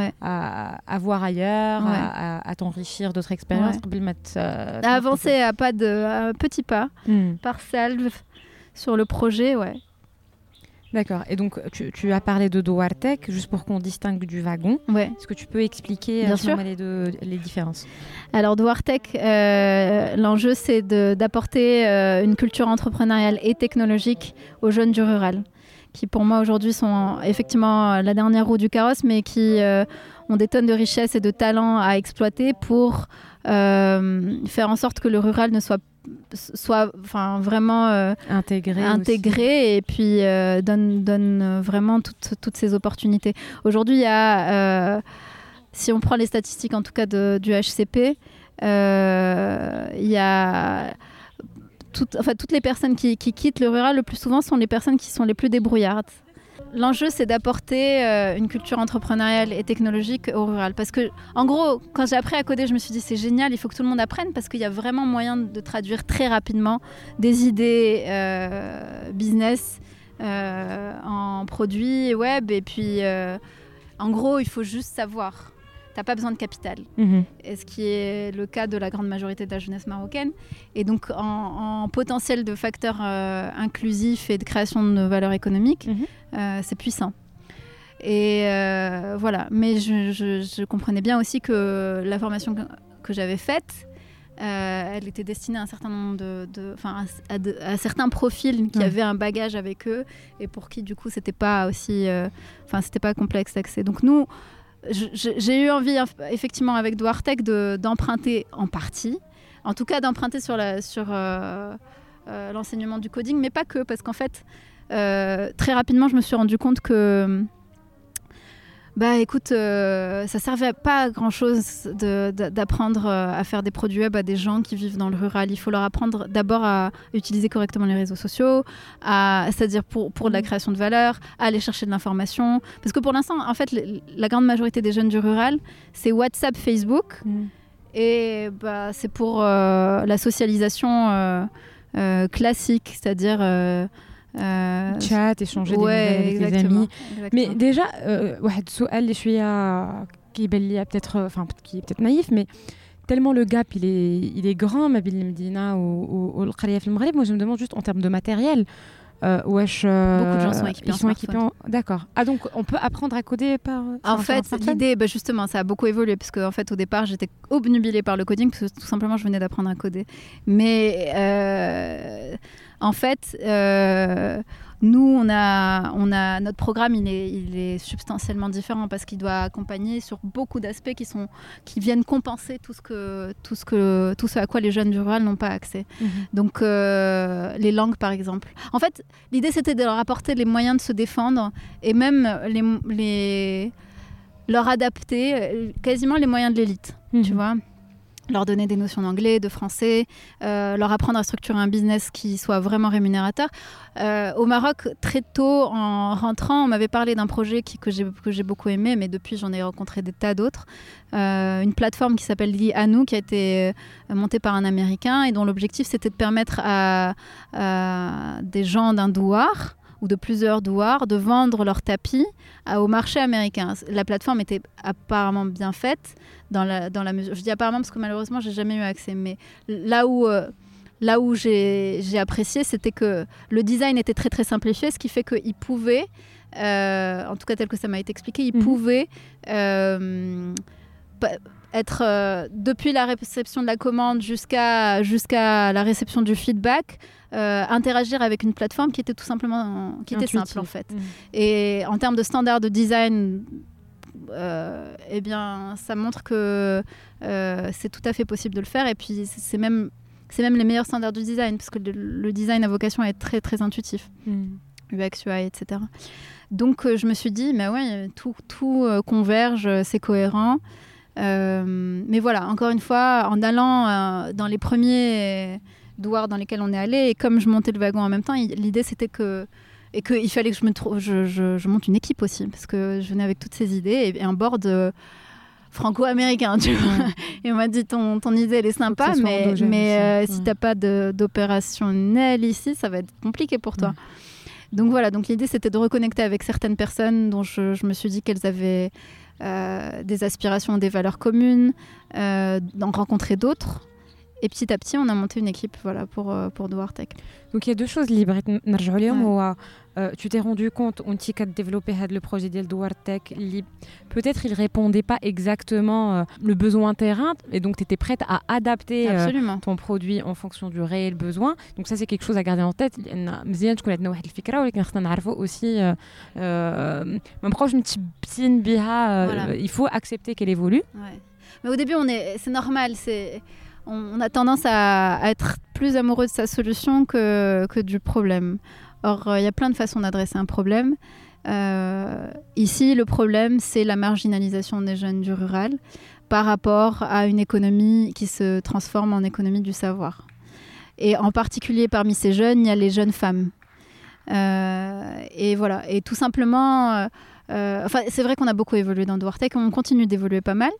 à voir ailleurs, à t'enrichir d'autres expériences. À avancer à petits pas, par salve sur le projet, D'accord. Et donc, tu as parlé de Duartec, juste pour qu'on distingue du wagon. Est-ce que tu peux expliquer les différences ? Alors, Duartec, l'enjeu, c'est d'apporter une culture entrepreneuriale et technologique aux jeunes du rural, qui pour moi aujourd'hui sont effectivement la dernière roue du carrosse, mais qui ont des tonnes de richesses et de talents à exploiter pour faire en sorte que le rural ne soit vraiment intégré et puis donne vraiment toutes ces opportunités. Aujourd'hui, il y a, si on prend les statistiques en tout cas du HCP, il y a toutes les personnes qui quittent le rural, le plus souvent sont les personnes qui sont les plus débrouillardes. L'enjeu, c'est d'apporter une culture entrepreneuriale et technologique au rural. Parce que, en gros, quand j'ai appris à coder, je me suis dit, c'est génial, il faut que tout le monde apprenne parce qu'il y a vraiment moyen de traduire très rapidement des idées business en produits web. Et puis, en gros, il faut juste savoir. T'as pas besoin de capital, et ce qui est le cas de la grande majorité de la jeunesse marocaine. Et donc, en potentiel de facteurs inclusifs et de création de valeur économique, c'est puissant. Et voilà. Mais je comprenais bien aussi que la formation que j'avais faite, elle était destinée à un certain nombre à certains profils qui avaient un bagage avec eux et pour qui, du coup, c'était pas aussi... c'était pas complexe d'accès. Donc, nous... J'ai eu envie, effectivement, avec Duartec, d'emprunter en partie. En tout cas, d'emprunter sur l'enseignement du coding, mais pas que, parce qu'en fait, très rapidement, je me suis rendu compte que écoute, ça servait pas à grand-chose d'apprendre à faire des produits web à des gens qui vivent dans le rural. Il faut leur apprendre d'abord à utiliser correctement les réseaux sociaux, c'est-à-dire pour de la création de valeur, à aller chercher de l'information. Parce que pour l'instant, en fait, la grande majorité des jeunes du rural, c'est WhatsApp, Facebook. Et c'est pour la socialisation classique, c'est-à-dire... chat, échanger des nouvelles avec les amis. Mais déjà, واحد السؤال اللي شوية كيبان لي qui est peut-être naïf, mais tellement le gap il est grand ما بين المدينة والقرية في المغرب. Moi je me demande juste en termes de matériel, beaucoup de gens sont équipés D'accord. Ah, donc on peut apprendre à coder par... En fait, l'idée, justement, ça a beaucoup évolué parce qu'en fait, au départ, j'étais obnubilée par le coding parce que tout simplement, je venais d'apprendre à coder. Mais en fait, nous, on a notre programme, il est substantiellement différent parce qu'il doit accompagner sur beaucoup d'aspects qui viennent compenser tout ce à quoi les jeunes du rural n'ont pas accès. Donc, les langues, par exemple. En fait, l'idée, c'était de leur apporter les moyens de se défendre et même leur adapter quasiment les moyens de l'élite, tu vois. Leur donner des notions d'anglais, de français, leur apprendre à structurer un business qui soit vraiment rémunérateur. Au Maroc, très tôt, en rentrant, on m'avait parlé d'un projet que j'ai beaucoup aimé, mais depuis, j'en ai rencontré des tas d'autres. Une plateforme qui s'appelle The Anou, qui a été montée par un Américain et dont l'objectif, c'était de permettre à des gens d'un douar ou de plusieurs douars de vendre leurs tapis au marché américain. La plateforme était apparemment bien faite dans la mesure... Je dis apparemment parce que malheureusement, j'ai jamais eu accès. Mais là où j'ai apprécié, c'était que le design était très très simplifié, ce qui fait qu'il pouvait, en tout cas tel que ça m'a été expliqué, il pouvait être depuis la réception de la commande jusqu'à la réception du feedback, interagir avec une plateforme qui était tout simplement simple en fait. Et en termes de standards de design, eh bien, ça montre que c'est tout à fait possible de le faire. Et puis c'est même les meilleurs standards du design parce que le design a vocation à être très très intuitif. UX, UI, etc. Donc je me suis dit, mais ouais, tout converge, c'est cohérent. Mais voilà, encore une fois, en allant dans les premiers douars dans lesquels on est allé, et comme je montais le wagon en même temps, l'idée c'était qu'il fallait que je monte une équipe aussi, parce que je venais avec toutes ces idées et un board franco-américain, tu vois. Et on m'a dit ton idée elle est sympa, mais si t'as pas d'opérationnel ici, ça va être compliqué pour toi. Donc voilà, donc l'idée c'était de reconnecter avec certaines personnes dont je me suis dit qu'elles avaient des aspirations, des valeurs communes, d'en rencontrer d'autres. Et petit à petit, on a monté une équipe pour Douar Tech. Donc il y a deux choses libres. Tu t'es rendu compte, on t'y a développé le projet de Douar Tech. Peut-être il ne répondait pas exactement le besoin terrain, et donc tu étais prête à adapter ton produit en fonction du réel besoin. Donc ça, c'est quelque chose à garder en tête. Aussi, il faut accepter qu'elle évolue. Ouais. Mais au début, c'est normal, on a tendance à être plus amoureux de sa solution que du problème. Or, il y a plein de façons d'adresser un problème. Ici, le problème, c'est la marginalisation des jeunes du rural par rapport à une économie qui se transforme en économie du savoir. Et en particulier, parmi ces jeunes, il y a les jeunes femmes. Et voilà. Et tout simplement, c'est vrai qu'on a beaucoup évolué dans Douar Tech, on continue d'évoluer pas mal.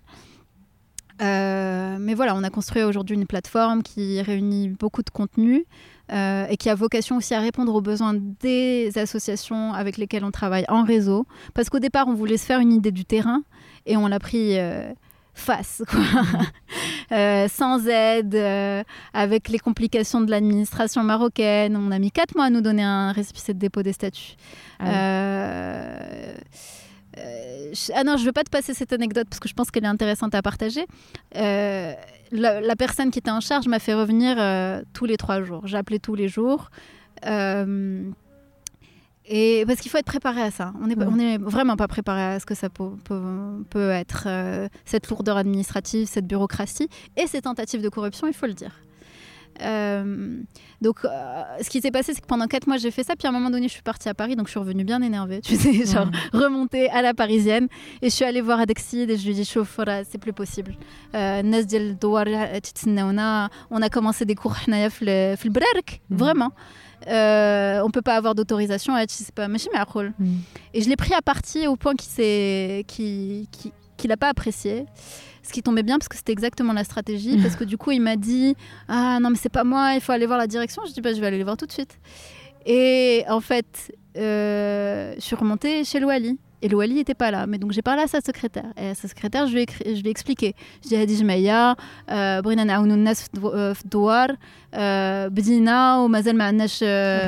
Mais voilà, on a construit aujourd'hui une plateforme qui réunit beaucoup de contenu et qui a vocation aussi à répondre aux besoins des associations avec lesquelles on travaille en réseau. Parce qu'au départ, on voulait se faire une idée du terrain et on l'a pris face, quoi. Sans aide, avec les complications de l'administration marocaine. On a mis 4 mois à nous donner un récépissé de dépôt des statuts. Non, je ne veux pas te passer cette anecdote parce que je pense qu'elle est intéressante à partager. La personne qui était en charge m'a fait revenir tous les 3 jours. J'appelais tous les jours. Et parce qu'il faut être préparé à ça. On n'est vraiment pas préparé à ce que ça peut être, cette lourdeur administrative, cette bureaucratie et ces tentatives de corruption, il faut le dire. Donc ce qui s'est passé, c'est que pendant 4 mois j'ai fait ça, puis à un moment donné je suis partie à Paris, donc je suis revenue bien énervée, tu sais, genre remontée à la parisienne, et je suis allée voir Adexid et je lui ai dit chauffe, c'est plus possible. On a commencé des cours في البرارك, vraiment. On peut pas avoir d'autorisation, c'est pas machine mais et je l'ai pris à partie au point qu'il a pas apprécié. Ce qui tombait bien parce que c'était exactement la stratégie. Parce que du coup, il m'a dit « Ah non, mais c'est pas moi, il faut aller voir la direction. » Je dis « Je vais aller les voir tout de suite. » Et en fait, je suis remontée chez Louali. Et Louali n'était pas là. Mais donc, j'ai parlé à sa secrétaire. Et à sa secrétaire, je lui ai expliqué. Je lui ai dit « Meya, brina naounou nas fdouar, بدينا ومازال ما عندناش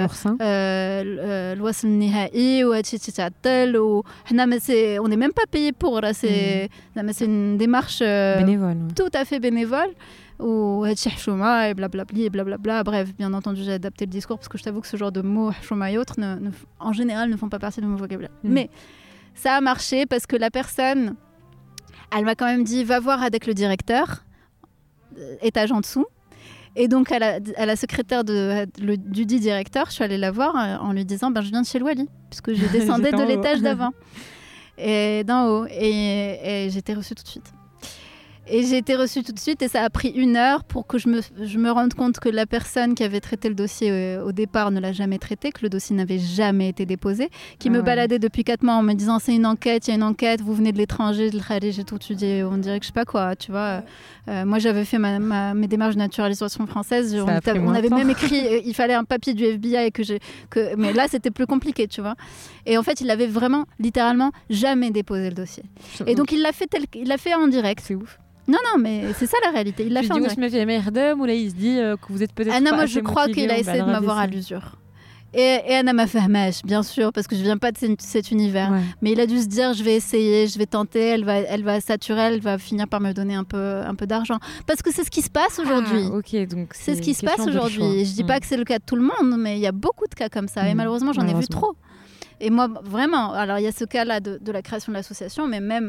الوصل النهائي وهادشي تيتعطل وحنا on n'est même pas payé pour c'est une démarche bénévole, tout à fait bénévole وهادشي حشومه et blablabla. Bref, bien entendu, j'ai adapté le discours parce que je t'avoue que ce genre de mots حشومه et autres en général ne font pas partie de mon vocabulaire. Mais ça a marché parce que la personne, elle m'a quand même dit va voir avec le directeur, étage en dessous. Et donc, à la secrétaire du dit directeur, je suis allée la voir en lui disant je viens de chez Louali, puisque je descendais de l'étage d'avant, et d'en haut. Et j'ai été reçue tout de suite. Et ça a pris 1 heure pour que je me rende compte que la personne qui avait traité le dossier au départ ne l'a jamais traité, que le dossier n'avait jamais été déposé, qui me baladait depuis 4 mois en me disant c'est une enquête, il y a une enquête, vous venez de l'étranger, de l'Kharij et tout. Tu dis, on dirait que je sais pas quoi, tu vois. Moi j'avais fait mes démarches de naturalisation française, on avait même écrit, il fallait un papier du FBI mais là c'était plus compliqué, tu vois. Et en fait il avait vraiment, littéralement, jamais déposé le dossier. Et donc il l'a fait en direct. C'est ouf. Non, mais c'est ça la réalité. Il l'a fait en direct. Ou là, il se dit que vous êtes peut-être pas moi, je crois qu'il a essayé de m'avoir à l'usure. Et Anna m'a fait bien sûr, parce que je viens pas de cet univers. Ouais. Mais il a dû se dire, je vais essayer, je vais tenter, elle va saturer, elle va finir par me donner un peu d'argent. Parce que c'est ce qui se passe aujourd'hui. Ok, donc c'est ce qui se passe aujourd'hui. Je dis pas que c'est le cas de tout le monde, mais il y a beaucoup de cas comme ça. Et malheureusement, j'en ai vu trop. Et moi, vraiment, alors il y a ce cas-là de la création de l'association, mais même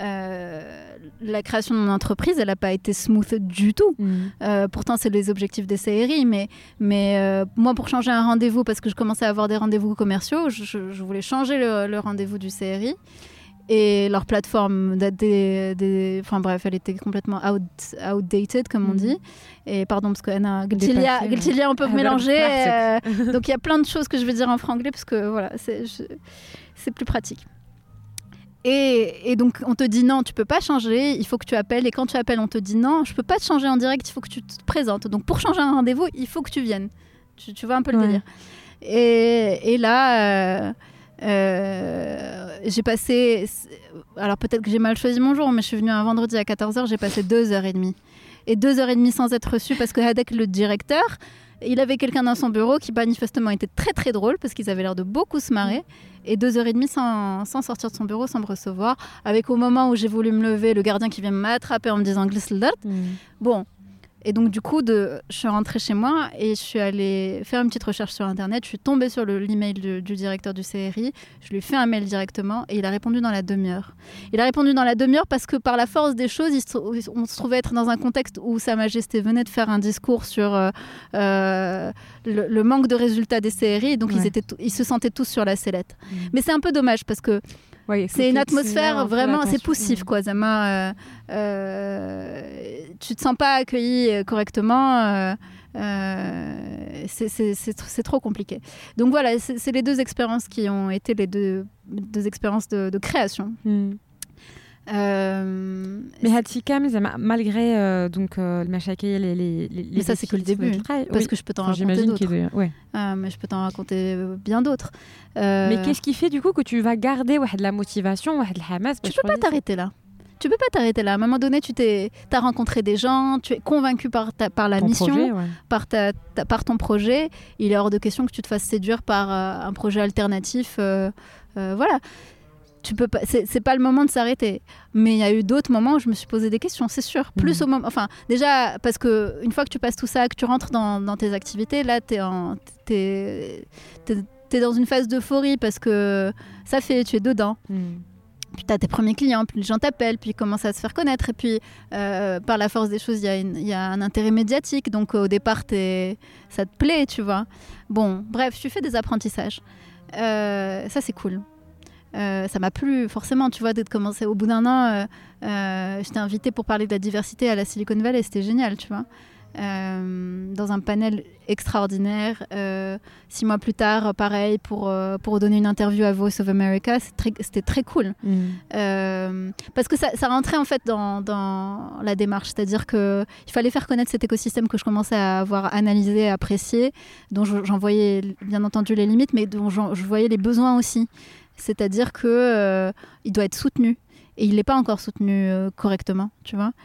la création de mon entreprise, elle n'a pas été smooth du tout. Pourtant, c'est les objectifs des CRI, mais moi, pour changer un rendez-vous, parce que je commençais à avoir des rendez-vous commerciaux, je voulais changer le rendez-vous du CRI. Et leur plateforme enfin bref, elle était complètement outdated, comme on dit. Et pardon, parce que Anna, Giltilia, on peut mélanger. Donc il y a plein de choses que je vais dire en franglais, parce que voilà, c'est plus pratique. Et donc, on te dit non, tu peux pas changer, il faut que tu appelles. Et quand tu appelles, on te dit non, je peux pas te changer en direct, il faut que tu te présentes. Donc, pour changer un rendez-vous, il faut que tu viennes. Tu vois un peu le délire. Et là, j'ai passé... Alors, peut-être que j'ai mal choisi mon jour, mais je suis venue un vendredi à 14h, j'ai passé 2h30. Et 2h30 sans être reçue parce que Hadek, le directeur, il avait quelqu'un dans son bureau qui manifestement était très très drôle parce qu'ils avaient l'air de beaucoup se marrer. Et 2h30 sans sortir de son bureau, sans me recevoir. Avec au moment où j'ai voulu me lever, le gardien qui vient m'attraper en me disant glisse le dart. Bon. Et donc du coup, je suis rentrée chez moi et je suis allée faire une petite recherche sur Internet. Je suis tombée sur l'email du directeur du CRI. Je lui ai fait un mail directement et il a répondu dans la demi-heure. Il a répondu dans la demi-heure parce que par la force des choses, on se trouvait être dans un contexte où Sa Majesté venait de faire un discours sur le manque de résultats des CRI. Donc ils se sentaient tous sur la sellette. Mais c'est un peu dommage parce que c'est une atmosphère vraiment, c'est poussif quoi. Zama, tu te sens pas accueilli correctement. C'est trop compliqué. Donc voilà, c'est les deux expériences qui ont été les deux expériences de création. Mais Hatikam, malgré donc le machakil les mais ça c'est que le début parce que je peux t'en raconter d'autres. Mais je peux t'en raconter bien d'autres. Mais qu'est-ce qui fait du coup que tu vas garder de la motivation, de la hamas? Tu peux pas t'arrêter là. Tu peux pas t'arrêter là. À un moment donné, tu as rencontré des gens, tu es convaincu par la mission, projet, par ton projet. Il est hors de question que tu te fasses séduire par un projet alternatif. Voilà. Tu peux pas, c'est pas le moment de s'arrêter. Mais il y a eu d'autres moments où je me suis posé des questions, c'est sûr. Plus au moment, enfin, déjà parce que une fois que tu passes tout ça, que tu rentres dans tes activités, là, t'es dans une phase d'euphorie parce que ça fait, tu es dedans. Puis tu as tes premiers clients, puis les gens t'appellent, puis ils commencent à se faire connaître. Et puis, par la force des choses, il y a un intérêt médiatique. Donc, au départ, ça te plaît, tu vois. Bon, bref, tu fais des apprentissages. Ça, c'est cool. Ça m'a plu, forcément, tu vois, d'être commencé. Au bout d'un an, j'étais invitée pour parler de la diversité à la Silicon Valley. C'était génial, tu vois. Dans un panel extraordinaire. 6 mois plus tard, pareil, pour donner une interview à Voice of America, c'était très cool. Parce que ça rentrait en fait dans la démarche, c'est-à-dire qu'il fallait faire connaître cet écosystème que je commençais à avoir analysé, apprécié, dont j'en voyais bien entendu les limites, mais dont je voyais les besoins aussi. C'est-à-dire qu'il doit être soutenu. Et il n'est pas encore soutenu correctement, tu vois.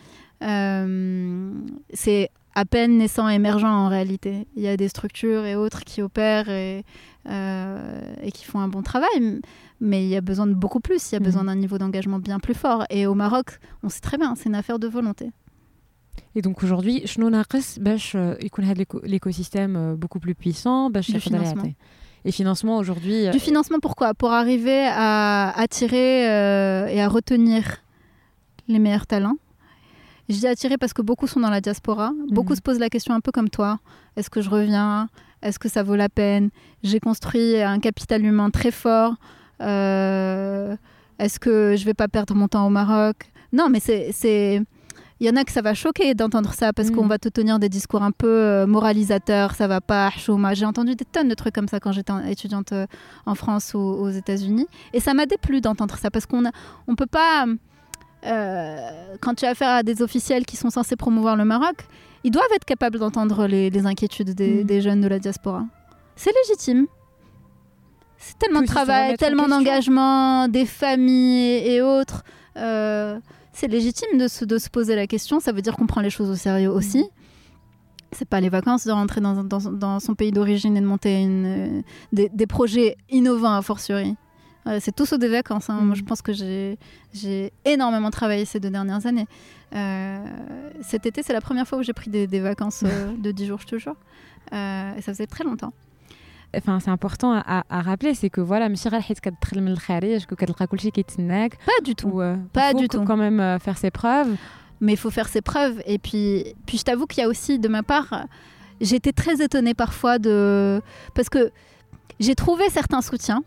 C'est à peine naissant, émergent en réalité. Il y a des structures et autres qui opèrent et qui font un bon travail, mais il y a besoin de beaucoup plus. Il y a besoin d'un niveau d'engagement bien plus fort. Et au Maroc, on sait très bien, c'est une affaire de volonté. Et donc aujourd'hui, شنو ناقص باش يكون هذا l'écosystème beaucoup plus puissant باش du financement. Et financement aujourd'hui. Du financement, pourquoi ? Pour arriver à attirer et à retenir les meilleurs talents. Je dis attirer parce que beaucoup sont dans la diaspora. Beaucoup se posent la question un peu comme toi. Est-ce que je reviens ? Est-ce que ça vaut la peine ? J'ai construit un capital humain très fort. Est-ce que je vais pas perdre mon temps au Maroc ? Non, mais c'est... Il y en a que ça va choquer d'entendre ça parce qu'on va te tenir des discours un peu moralisateurs, ça va pas, chouma. J'ai entendu des tonnes de trucs comme ça quand j'étais étudiante en France ou aux États-Unis. Et ça m'a déplu d'entendre ça parce qu'on peut pas... quand tu as affaire à des officiels qui sont censés promouvoir le Maroc, ils doivent être capables d'entendre les inquiétudes des jeunes de la diaspora. C'est légitime. C'est tellement de travail, tellement d'engagement, des familles et autres. C'est légitime de se poser la question. Ça veut dire qu'on prend les choses au sérieux aussi. C'est pas les vacances de rentrer dans son pays d'origine et de monter des projets innovants a fortiori. C'est tout sauf des vacances. Moi, je pense que j'ai énormément travaillé ces 2 dernières années. Cet été, c'est la première fois où j'ai pris des vacances de 10 jours, je te jure. Et ça faisait très longtemps. Enfin, c'est important à rappeler, c'est que voilà, ماشي غير حيت كتدخل من الخارج كتلقى كلشي كيتسناك. Pas du tout. Pas du tout. Il faut quand même faire ses preuves. Mais il faut faire ses preuves. Et puis je t'avoue qu'il y a aussi, de ma part, j'ai été très étonnée parfois parce que j'ai trouvé certains soutiens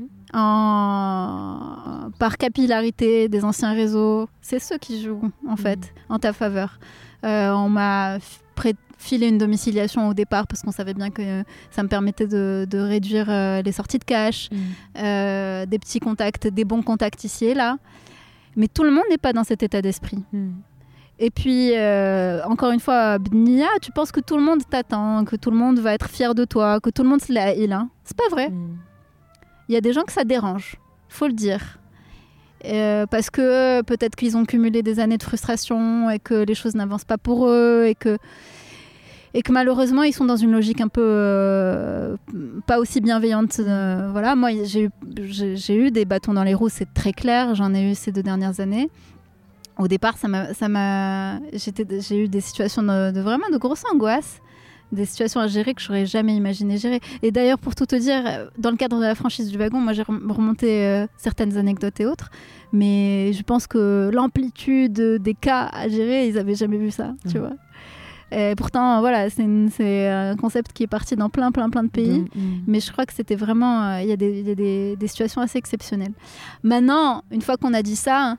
par capillarité des anciens réseaux. C'est ceux qui jouent, en fait, en ta faveur. On m'a filé une domiciliation au départ parce qu'on savait bien que ça me permettait de réduire les sorties de cash, des petits contacts, des bons contacts ici et là. Mais tout le monde n'est pas dans cet état d'esprit. Et puis, encore une fois, Bnia, tu penses que tout le monde t'attend, que tout le monde va être fier de toi, que tout le monde se l'haïle. Hein. C'est pas vrai. Il y a des gens que ça dérange, faut le dire. Parce que peut-être qu'ils ont cumulé des années de frustration et que les choses n'avancent pas pour eux et que malheureusement ils sont dans une logique un peu pas aussi bienveillante. Voilà, moi j'ai eu des bâtons dans les roues, c'est très clair, j'en ai eu ces 2 dernières années. Au départ, j'ai eu des situations de vraiment de grosse angoisse, des situations à gérer que j'aurais jamais imaginé gérer. Et d'ailleurs, pour tout te dire, dans le cadre de la franchise du wagon, moi j'ai remonté certaines anecdotes et autres, mais je pense que l'amplitude des cas à gérer, ils avaient jamais vu ça, tu vois. Et pourtant, voilà, c'est un concept qui est parti dans plein de pays, mais je crois que c'était vraiment, il y a des situations assez exceptionnelles. Maintenant, une fois qu'on a dit ça,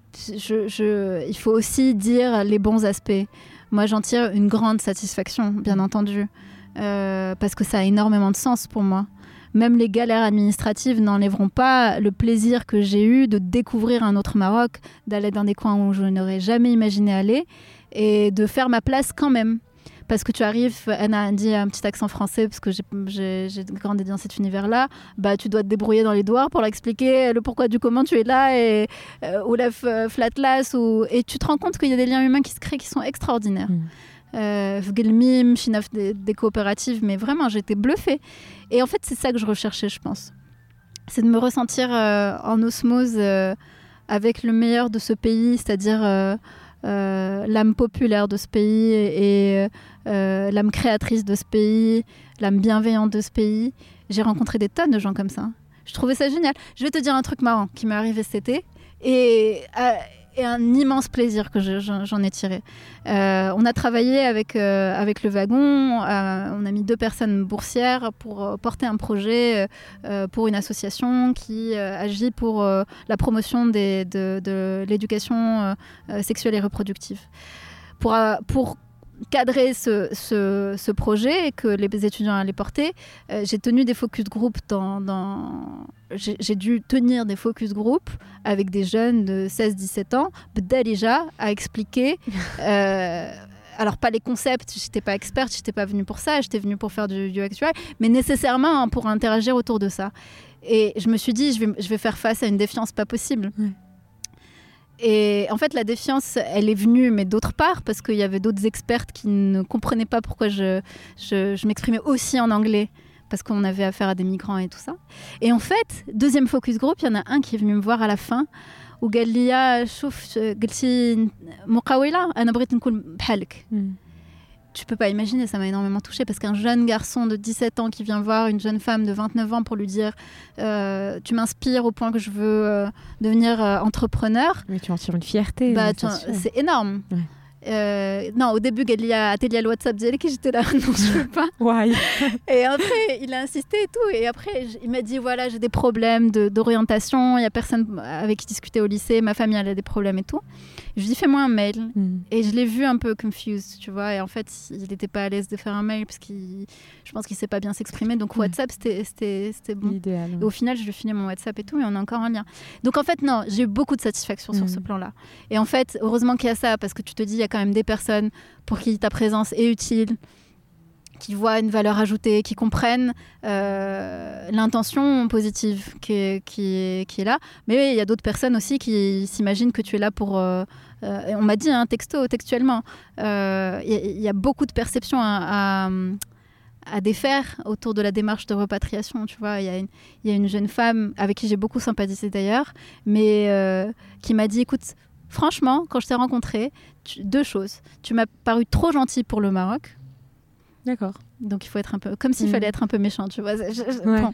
il faut aussi dire les bons aspects. Moi, j'en tire une grande satisfaction, bien entendu, parce que ça a énormément de sens pour moi. Même les galères administratives n'enlèveront pas le plaisir que j'ai eu de découvrir un autre Maroc, d'aller dans des coins où je n'aurais jamais imaginé aller et de faire ma place quand même. Parce que tu arrives, Anna a dit un petit accent français, parce que j'ai grandi dans cet univers-là, bah, tu dois te débrouiller dans les douars pour l'expliquer, le pourquoi du comment tu es là, ou la flatlas, et tu te rends compte qu'il y a des liens humains qui se créent qui sont extraordinaires. Fgelmim, Chinaf, des coopératives, mais vraiment, j'étais bluffée. Et en fait, c'est ça que je recherchais, je pense. C'est de me ressentir en osmose avec le meilleur de ce pays, c'est-à-dire l'âme populaire de ce pays et l'âme créatrice de ce pays, l'âme bienveillante de ce pays. J'ai rencontré des tonnes de gens comme ça. Je trouvais ça génial. Je vais te dire un truc marrant qui m'est arrivé cet été et un immense plaisir que j'en ai tiré. On a travaillé avec le wagon, on a mis 2 personnes boursières pour porter un projet pour une association qui agit pour la promotion de l'éducation sexuelle et reproductive. Pour cadrer ce projet et que les étudiants allaient porter, j'ai tenu des focus group j'ai dû tenir des focus group avec des jeunes de 16-17 ans, déjà à expliquer alors pas les concepts, j'étais pas experte, j'étais pas venue pour ça, j'étais venue pour faire du UX UI, mais nécessairement pour interagir autour de ça. Et je me suis dit, je vais faire face à une défiance pas possible. Et en fait, la défiance, elle est venue, mais d'autre part, parce qu'il y avait d'autres expertes qui ne comprenaient pas pourquoi je m'exprimais aussi en anglais, parce qu'on avait affaire à des migrants et tout ça. Et en fait, deuxième focus group, il y en a un qui est venu me voir à la fin, où قال لي شوف قلتي مقاولة أنا بغيت نكون بحالك. Tu peux pas imaginer, ça m'a énormément touchée parce qu'un jeune garçon de 17 ans qui vient voir une jeune femme de 29 ans pour lui dire tu m'inspires au point que je veux devenir entrepreneur. Mais tu en tires une fierté. C'est énorme. Non, au début, il y a atelier le WhatsApp, j'étais là, non, je veux pas. Ouais. Et après, il a insisté et tout. Et après, il m'a dit voilà, j'ai des problèmes d'orientation. Il y a personne avec qui discuter au lycée. Ma famille, elle a des problèmes et tout. Je lui ai dit fais-moi un mail. Et je l'ai vu un peu confused, tu vois. Et en fait, il n'était pas à l'aise de faire un mail parce je pense qu'il sait pas bien s'exprimer. Donc WhatsApp, c'était bon. Idéal. Et au final, je lui ai fini mon WhatsApp et tout, et on a encore un lien. Donc en fait, non, j'ai eu beaucoup de satisfaction sur ce plan-là. Et en fait, heureusement qu'il y a ça, parce que tu te dis, il y a quand même des personnes pour qui ta présence est utile, qui voient une valeur ajoutée, qui comprennent l'intention positive qui est là. Mais il y a d'autres personnes aussi qui s'imaginent que tu es là pour... on m'a dit, textuellement, il y a beaucoup de perceptions à défaire autour de la démarche de repatriation. Tu vois, il y a une jeune femme avec qui j'ai beaucoup sympathisé d'ailleurs, mais qui m'a dit, écoute, franchement, quand je t'ai rencontré, 2 choses. Tu m'as paru trop gentil pour le Maroc. D'accord. Donc il faut être un peu... Comme s'il fallait être un peu méchant, tu vois. Bon.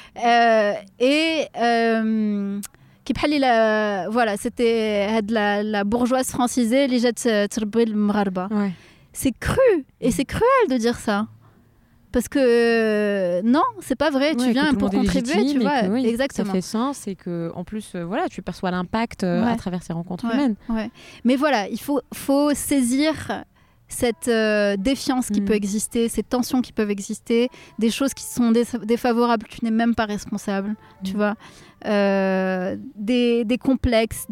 Voilà, c'était la bourgeoise francisée, les jets le mrarba. C'est cru, et c'est cruel de dire ça. Parce que non, c'est pas vrai. Tu viens pour contribuer, tu vois. Oui, exactement. Ça fait sens et que en plus, voilà, tu perçois l'impact à travers ces rencontres humaines. Ouais. Mais voilà, il faut saisir cette défiance qui peut exister, ces tensions qui peuvent exister, des choses qui sont défavorables, tu n'es même pas responsable, tu vois, des complexes,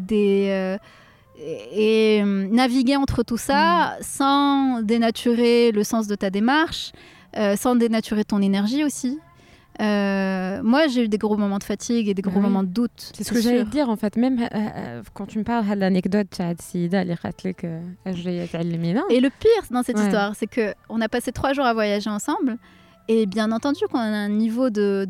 et naviguer entre tout ça sans dénaturer le sens de ta démarche, sans dénaturer ton énergie aussi. Moi, j'ai eu des gros moments de fatigue et des gros moments de doute. C'est ce que j'allais te dire, en fait. Même quand tu me parles de l'anecdote de Sida, et le pire dans cette histoire, c'est qu'on a passé 3 jours à voyager ensemble. Et bien entendu qu'on a un niveau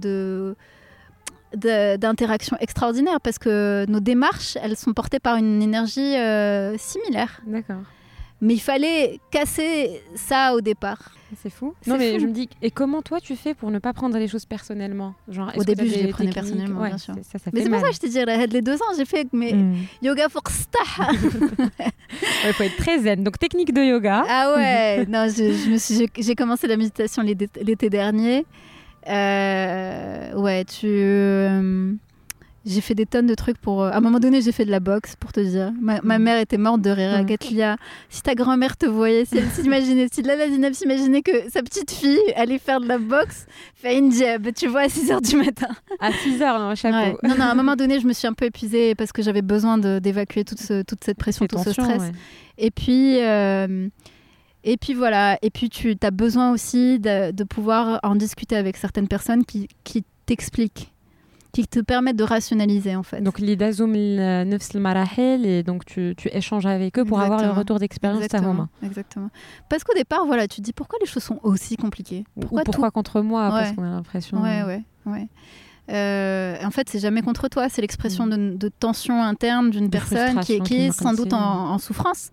d'interaction extraordinaire parce que nos démarches, elles sont portées par une énergie similaire. D'accord. Mais il fallait casser ça au départ. C'est fou. Non, mais je me dis, et comment toi tu fais pour ne pas prendre les choses personnellement? Genre, au début, je les prenais personnellement, bien sûr. Ça mais c'est pour ça que je te dis, les 2 ans, j'ai fait yoga pour stah. Il faut être très zen. Donc, technique de yoga. Ah ouais, non, j'ai commencé la méditation l'été dernier. J'ai fait des tonnes de trucs pour... À un moment donné, j'ai fait de la boxe, pour te dire. Ma mère était morte de rire. Gatlia, si ta grand-mère te voyait, si elle s'imaginait, si Lala Zinab s'imaginait que sa petite fille allait faire de la boxe, fait une jab, tu vois, à 6h du matin. À 6h, non, chapeau. Ouais. Non, à un moment donné, je me suis un peu épuisée parce que j'avais besoin d'évacuer toute cette pression, tout ce stress. Ouais. Et puis voilà. Et puis tu as besoin aussi de pouvoir en discuter avec certaines personnes qui t'expliquent, qui te permettent de rationaliser en fait. Donc l'idazum nefs al-marahil, et donc tu échanges avec eux pour avoir le retour d'expérience. Exactement. Parce qu'au départ, voilà, tu te dis pourquoi les choses sont aussi compliquées. Pourquoi contre moi, parce qu'on a l'impression. Ouais. En fait, c'est jamais contre toi, c'est l'expression de tension interne d'une personne qui est sans doute en souffrance.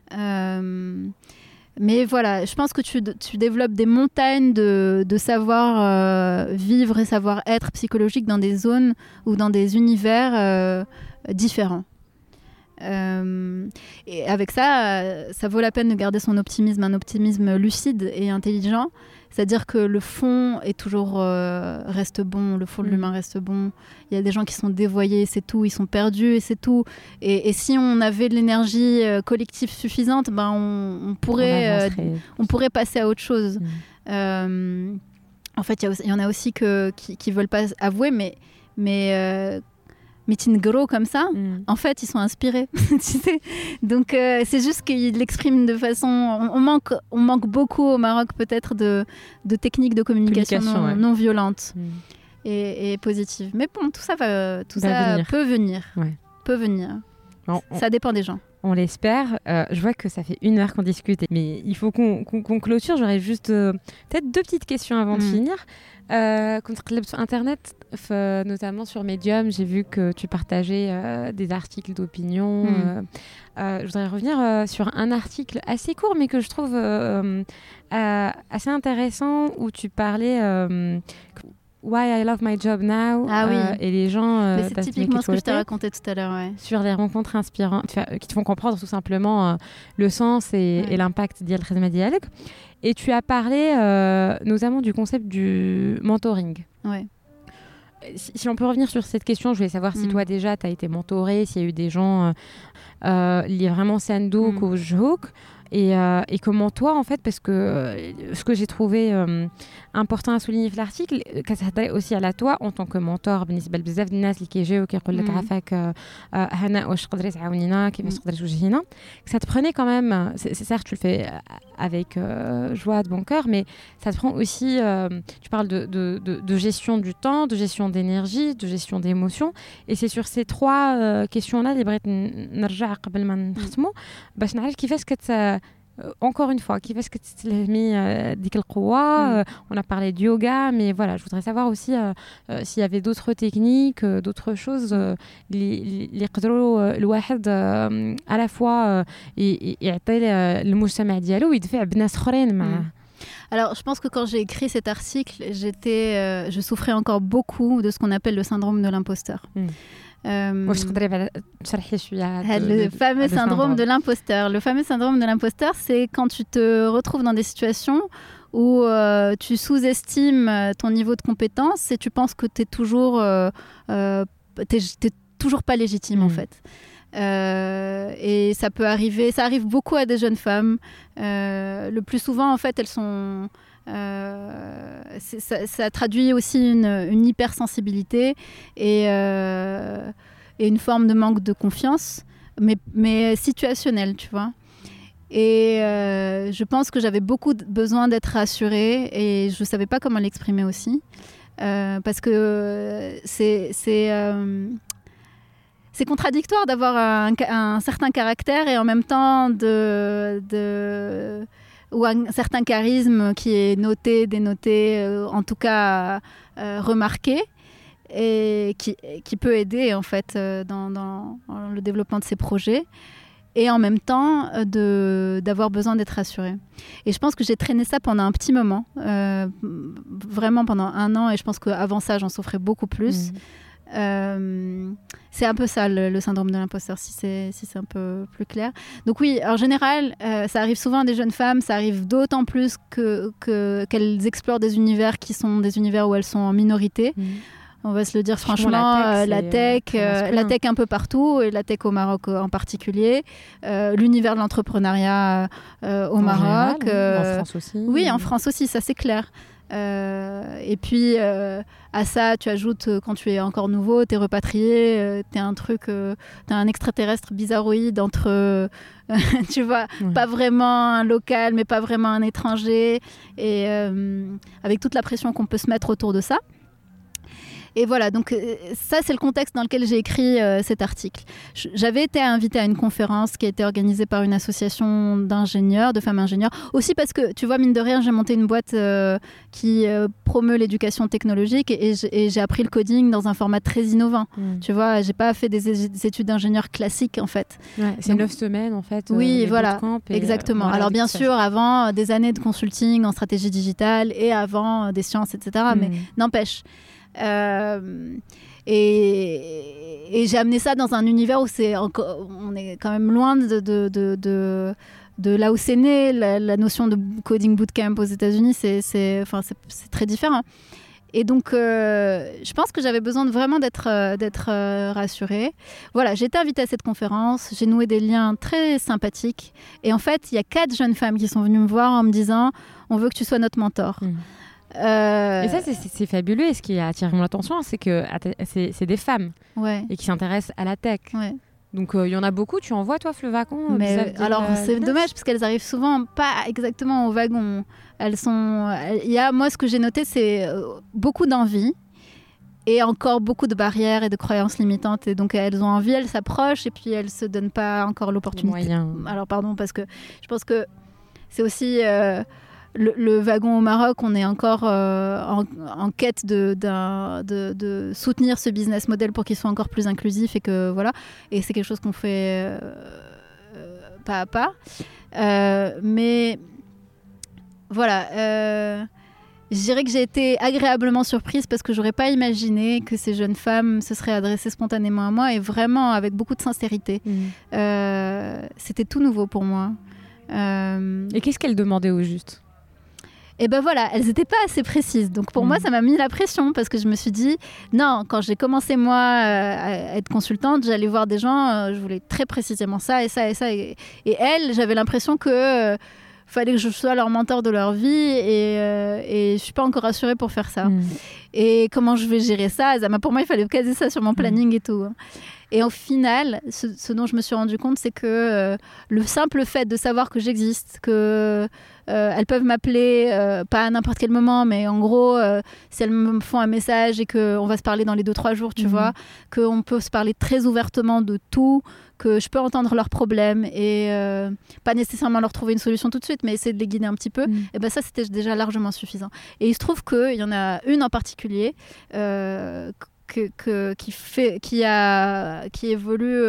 Mais voilà, je pense que tu développes des montagnes de savoir vivre et savoir-être psychologique dans des zones ou dans des univers différents. Et avec ça, ça vaut la peine de garder son optimisme, un optimisme lucide et intelligent. C'est-à-dire que le fond est toujours reste bon, le fond de l'humain reste bon. Il y a des gens qui sont dévoyés, c'est tout, ils sont perdus et c'est tout. Et si on avait de l'énergie collective suffisante, on pourrait passer à autre chose. En fait, il y en a aussi qui veulent pas avouer, mais meeting gros comme ça, en fait, ils sont inspirés. Tu sais. Donc, c'est juste qu'ils l'expriment de façon... On manque beaucoup au Maroc, peut-être, de techniques de communication non violentes et positives. Mais bon, tout ça peut venir. Ouais. Peut venir. Bon, ça dépend des gens. On l'espère. Je vois que ça fait 1 heure qu'on discute, mais il faut qu'on clôture. J'aurais juste peut-être 2 petites questions avant de finir. Quand tu regardes sur Internet, notamment sur Medium, j'ai vu que tu partageais des articles d'opinion. Je voudrais revenir sur un article assez court, mais que je trouve assez intéressant, où tu parlais... Why I love my job now. Et les gens... mais c'est typiquement ce que je t'ai raconté tout à l'heure. Ouais. Sur les rencontres inspirantes qui te font comprendre tout simplement le sens et l'impact d'Yal Khazma Dialek. Et tu as parlé notamment du concept du mentoring. Ouais. Si on peut revenir sur cette question, je voulais savoir si toi déjà tu as été mentorée, s'il y a eu des gens liés vraiment Sandouk ou Jhouk. Et comment toi, en fait, parce que ce que j'ai trouvé important à souligner في l'article, كتهضري aussi à la toi en tant que mentor بالنسبة لبزاف الناس اللي كيجيو وكيقول لك عافاك هناء واش تقدري تعاونينا كيفاش تقدري توجهينا. Ça te prenait quand même, c'est certes tu le fais avec joie de bon cœur, mais ça te prend aussi, tu parles de gestion du temps, de gestion d'énergie, de gestion d'émotions, et c'est sur ces 3 questions-là اللي بغيت نرجع قبل ما نختموا باش نعرف كيفاش encore une fois, كيفاش كتستلهمي ديك القوة. On a parlé de yoga, mais voilà, je voudrais savoir aussi s'il y avait d'autres techniques, d'autres choses اللي يقدروا الواحد à la fois يعطي المجتمع ديالو ويدفع بناس اخرين معاه. Alors, je pense que quand j'ai écrit cet article, je souffrais encore beaucoup de ce qu'on appelle le syndrome de l'imposteur. Le fameux syndrome de l'imposteur. Le fameux syndrome de l'imposteur, c'est quand tu te retrouves dans des situations où tu sous-estimes ton niveau de compétence et tu penses que t'es toujours pas légitime en fait. Et ça arrive beaucoup à des jeunes femmes. Le plus souvent, en fait, elles sont... ça traduit aussi une hypersensibilité et une forme de manque de confiance, mais situationnelle, tu vois. Et je pense que j'avais beaucoup besoin d'être rassurée et je ne savais pas comment l'exprimer aussi. Parce que c'est contradictoire d'avoir un certain caractère et en même temps ou un certain charisme qui est noté, dénoté, en tout cas remarqué, et qui peut aider en fait dans le développement de ces projets. Et en même temps d'avoir besoin d'être rassurée. Et je pense que j'ai traîné ça pendant un petit moment, vraiment pendant 1 an, et je pense qu'avant ça, j'en souffrais beaucoup plus. C'est un peu ça, le syndrome de l'imposteur, si c'est un peu plus clair. Donc oui, en général, ça arrive souvent à des jeunes femmes, ça arrive d'autant plus qu'elles explorent des univers qui sont des univers où elles sont en minorité. On va se le dire franchement, la tech un peu partout, et la tech au Maroc en particulier, l'univers de l'entrepreneuriat au Maroc. Général, en France aussi. Oui, en France aussi, ça c'est clair. Et puis à ça, tu ajoutes quand tu es encore nouveau, t'es repatrié, t'es un extraterrestre bizarroïde entre, tu vois, pas vraiment un local, mais pas vraiment un étranger, et avec toute la pression qu'on peut se mettre autour de ça. Et voilà, donc ça, c'est le contexte dans lequel j'ai écrit cet article. J'avais été invitée à une conférence qui a été organisée par une association d'ingénieurs, de femmes ingénieurs. Aussi parce que, tu vois, mine de rien, j'ai monté une boîte qui promeut l'éducation technologique et j'ai appris le coding dans un format très innovant. Tu vois, j'ai pas fait des études d'ingénieur classiques, en fait. Ouais, c'est 9 semaines, en fait. Oui, voilà, exactement. Alors, bien sûr, avant des années de consulting en stratégie digitale et avant des sciences, etc. Mais n'empêche... et j'ai amené ça dans un univers où on est quand même loin de là où c'est né. La notion de coding bootcamp aux États-Unis, c'est très différent. Et donc, je pense que j'avais besoin vraiment d'être rassurée. Voilà, j'ai été invitée à cette conférence, j'ai noué des liens très sympathiques. Et en fait, il y a 4 jeunes femmes qui sont venues me voir en me disant « On veut que tu sois notre mentor ». Et ça, c'est fabuleux. Et ce qui a attiré mon attention, c'est que c'est des femmes et qui s'intéressent à la tech. Ouais. Donc, il y en a beaucoup. Tu en vois, toi, Fleuvagon? Mais alors, c'est dommage parce qu'elles arrivent souvent pas exactement au wagon. Moi, ce que j'ai noté, c'est beaucoup d'envie et encore beaucoup de barrières et de croyances limitantes. Et donc, elles ont envie, elles s'approchent et puis elles se donnent pas encore l'opportunité. Alors, pardon, parce que je pense que c'est aussi... Le wagon au Maroc, on est encore en quête de soutenir ce business model pour qu'il soit encore plus inclusif et que voilà. Et c'est quelque chose qu'on fait pas à pas. Mais voilà, je dirais que j'ai été agréablement surprise parce que j'aurais pas imaginé que ces jeunes femmes se seraient adressées spontanément à moi et vraiment avec beaucoup de sincérité. C'était tout nouveau pour moi. Et qu'est-ce qu'elles demandaient au juste ? Et ben voilà, elles n'étaient pas assez précises. Donc pour moi, ça m'a mis la pression parce que je me suis dit, non, quand j'ai commencé moi à être consultante, j'allais voir des gens, je voulais très précisément ça et ça et ça. Et elles, j'avais l'impression que fallait que je sois leur mentor de leur vie et je suis pas encore rassurée pour faire ça. Et comment je vais gérer ça? Pour moi, il fallait caser ça sur mon planning et tout. Et au final, ce dont je me suis rendu compte, c'est que le simple fait de savoir que j'existe, que elles peuvent m'appeler, pas à n'importe quel moment, mais en gros, si elles me font un message et qu'on va se parler dans les 2-3 jours, tu vois, qu'on peut se parler très ouvertement de tout, que je peux entendre leurs problèmes et pas nécessairement leur trouver une solution tout de suite, mais essayer de les guider un petit peu, et ben ça, c'était déjà largement suffisant. Et il se trouve qu'il y en a une en particulier qui évolue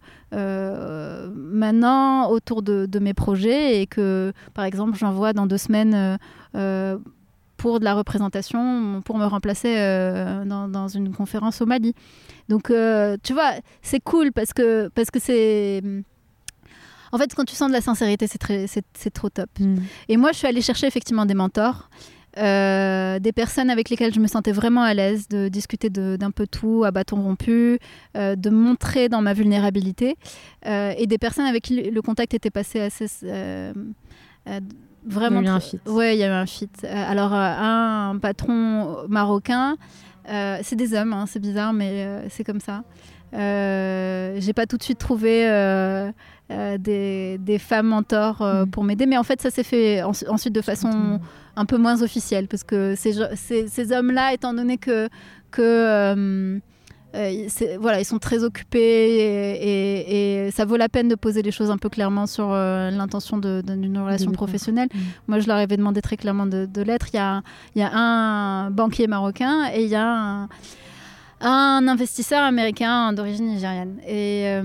maintenant autour de mes projets et que, par exemple, j'envoie dans 2 semaines pour de la représentation, pour me remplacer dans une conférence au Mali. Donc, tu vois, c'est cool parce que c'est... En fait, quand tu sens de la sincérité, c'est trop top. Et moi, je suis allée chercher effectivement des mentors. des personnes avec lesquelles je me sentais vraiment à l'aise de discuter d'un peu tout à bâton rompu, de montrer dans ma vulnérabilité, et des personnes avec qui le contact était passé assez vraiment. Il y a eu un fit. Ouais, il y a eu un fit. Alors un patron marocain, c'est des hommes, hein, c'est bizarre, mais c'est comme ça. J'ai pas tout de suite trouvé des femmes mentors pour m'aider, mais en fait ça s'est fait ensuite de façon un peu moins officielle, parce que ces hommes-là, étant donné que voilà, ils sont très occupés et ça vaut la peine de poser les choses un peu clairement sur l'intention d'une relation professionnelle. Moi, je leur avais demandé très clairement de l'être. Il y a un banquier marocain et il y a un investisseur américain d'origine nigériane. Et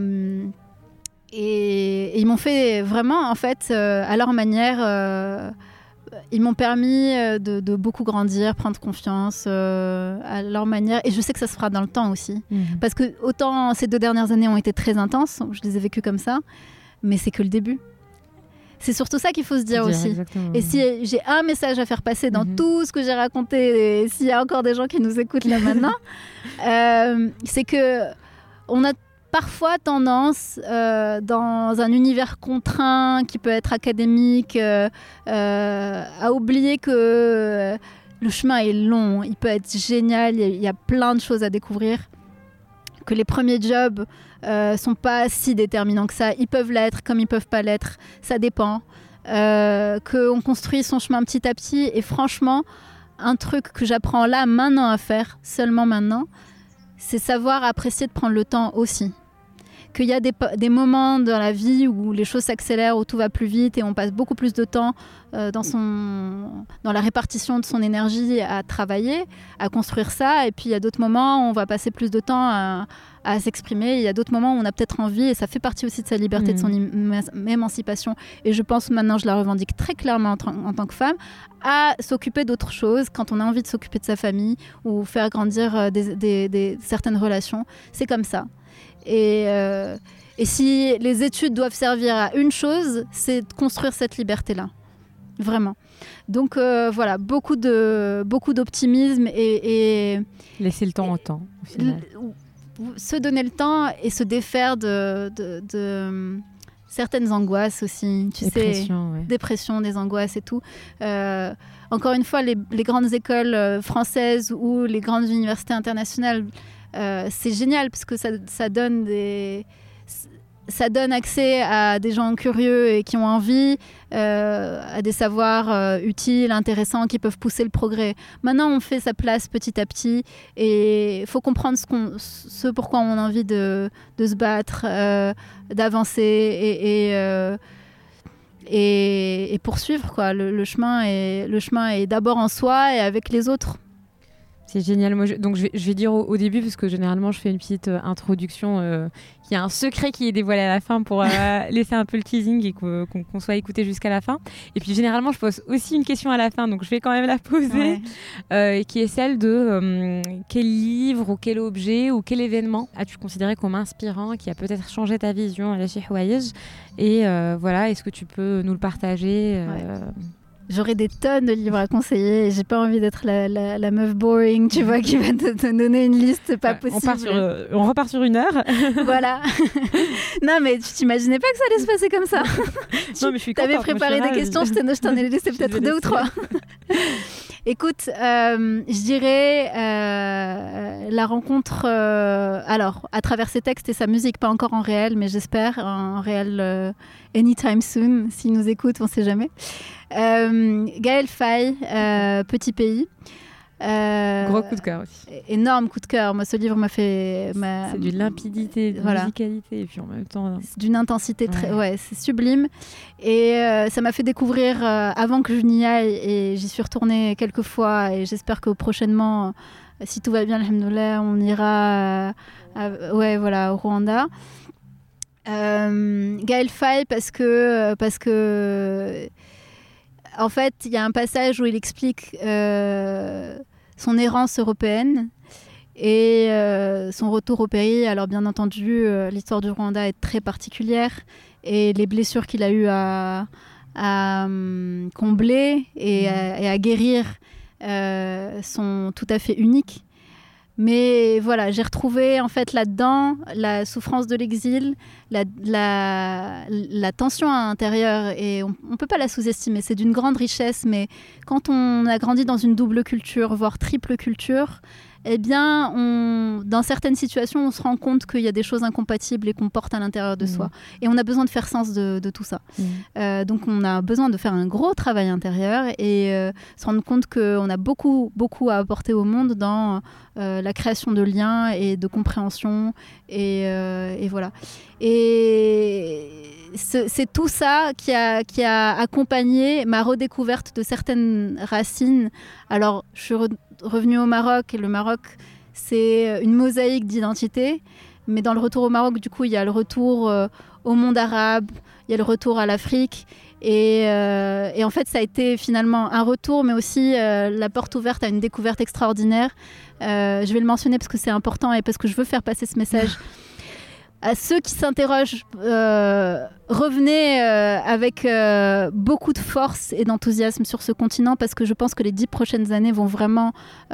ils m'ont fait vraiment, en fait, à leur manière... ils m'ont permis de beaucoup grandir, prendre confiance à leur manière. Et je sais que ça se fera dans le temps aussi. Parce que autant ces 2 dernières années ont été très intenses, je les ai vécues comme ça, mais c'est que le début. C'est surtout ça qu'il faut se dire aussi. Exactement. Et si j'ai un message à faire passer dans tout ce que j'ai raconté, et s'il y a encore des gens qui nous écoutent là maintenant, c'est que on a parfois tendance, dans un univers contraint qui peut être académique, à oublier que le chemin est long, il peut être génial, il y a plein de choses à découvrir, que les premiers jobs sont pas si déterminants que ça. Ils peuvent l'être comme ils peuvent pas l'être, ça dépend. Qu'on construit son chemin petit à petit, et franchement, un truc que j'apprends là maintenant à faire, seulement maintenant, c'est savoir apprécier de prendre le temps aussi. Qu'il y a des moments dans la vie où les choses s'accélèrent, où tout va plus vite et on passe beaucoup plus de temps dans la répartition de son énergie à travailler, à construire ça. Et puis il y a d'autres moments où on va passer plus de temps à s'exprimer. Il y a d'autres moments où on a peut-être envie, et ça fait partie aussi de sa liberté, de son émancipation. Et je pense maintenant, je la revendique très clairement en tant que femme, à s'occuper d'autres choses quand on a envie de s'occuper de sa famille ou faire grandir certaines relations. C'est comme ça. Et si les études doivent servir à une chose, c'est de construire cette liberté-là. Vraiment. Donc voilà, beaucoup d'optimisme et laisser le temps au temps. Au final. Se donner le temps et se défaire de certaines angoisses aussi. Dépression, des angoisses et tout. Encore une fois, les grandes écoles françaises ou les grandes universités internationales, c'est génial parce que ça donne accès à des gens curieux et qui ont envie, à des savoirs utiles, intéressants, qui peuvent pousser le progrès. Maintenant, on fait sa place petit à petit et il faut comprendre ce pourquoi on a envie de se battre, d'avancer et poursuivre, quoi. Le chemin est d'abord en soi et avec les autres. C'est génial. Moi, donc je vais dire au début, parce que généralement je fais une petite introduction qui a un secret qui est dévoilé à la fin pour laisser un peu le teasing et qu'on soit écouté jusqu'à la fin. Et puis généralement je pose aussi une question à la fin, donc je vais quand même la poser, qui est celle de quel livre ou quel objet ou quel événement as-tu considéré comme inspirant, qui a peut-être changé ta vision à la Cheikh Houaïj, et voilà, est-ce que tu peux nous le partager J'aurais des tonnes de livres à conseiller et j'ai pas envie d'être la meuf boring, tu vois, qui va te donner une liste pas possible. On repart sur 1 heure. Voilà. Non, mais tu t'imaginais pas que ça allait se passer comme ça. Non, mais je suis contente. T'avais préparé des questions, je t'en ai laissé peut-être 2 ou 3. Écoute, je dirais la rencontre, alors, à travers ses textes et sa musique, pas encore en réel, mais j'espère, en réel anytime soon, s'il nous écoute, on sait jamais. Gaël Faye, Petit pays. Gros coup de cœur aussi. Énorme coup de cœur. Moi, ce livre m'a fait... C'est d'une limpidité, d'une musicalité, et puis en même temps... C'est d'une intensité très... Ouais, c'est sublime. Et ça m'a fait découvrir avant que je n'y aille, et j'y suis retournée quelques fois, et j'espère que prochainement, si tout va bien, alhamdoulilah, on ira au Rwanda. Gaël Faye, parce que en fait, il y a un passage où il explique son errance européenne et son retour au pays. Alors bien entendu, l'histoire du Rwanda est très particulière et les blessures qu'il a eu à combler et à guérir sont tout à fait uniques. Mais voilà, j'ai retrouvé en fait là-dedans la souffrance de l'exil, la tension à l'intérieur, et on ne peut pas la sous-estimer. C'est d'une grande richesse, mais quand on a grandi dans une double culture, voire triple culture, eh bien, dans certaines situations, on se rend compte qu'il y a des choses incompatibles et qu'on porte à l'intérieur de soi. Et on a besoin de faire sens de tout ça. Donc, on a besoin de faire un gros travail intérieur et se rendre compte qu'on a beaucoup, beaucoup à apporter au monde dans la création de liens et de compréhension. Et voilà. Et c'est tout ça qui a accompagné ma redécouverte de certaines racines. Alors, je suis revenue au Maroc, et le Maroc, c'est une mosaïque d'identité. Mais dans le retour au Maroc, du coup, il y a le retour au monde arabe, il y a le retour à l'Afrique. Et en fait, ça a été finalement un retour, mais aussi la porte ouverte à une découverte extraordinaire. Je vais le mentionner parce que c'est important et parce que je veux faire passer ce message. À ceux qui s'interrogent, revenez avec beaucoup de force et d'enthousiasme sur ce continent, parce que je pense que les 10 prochaines années vont vraiment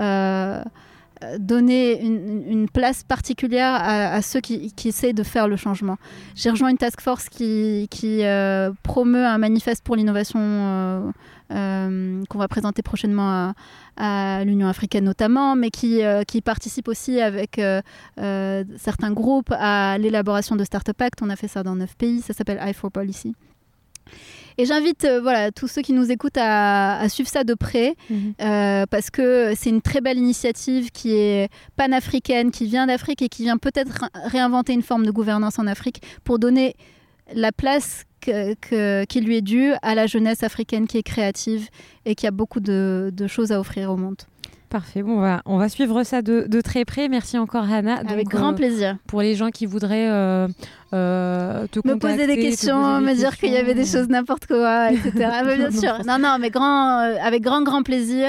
donner une place particulière à ceux qui essaient de faire le changement. J'ai rejoint une task force qui promeut un manifeste pour l'innovation qu'on va présenter prochainement à l'Union africaine notamment, mais qui participe aussi avec certains groupes à l'élaboration de Startup Act. On a fait ça dans 9 pays, ça s'appelle I4Policy. Et j'invite tous ceux qui nous écoutent à suivre ça de près, parce que c'est une très belle initiative qui est panafricaine, qui vient d'Afrique et qui vient peut-être réinventer une forme de gouvernance en Afrique pour donner la place qui lui est due à la jeunesse africaine qui est créative et qui a beaucoup de choses à offrir au monde. Parfait, bon, on va suivre ça de très près. Merci encore Hana. Avec grand plaisir. Pour les gens qui voudraient te contacter, me poser des questions, me dire qu'il y avait des choses n'importe quoi, etc. Mais bien sûr, non, mais avec grand plaisir.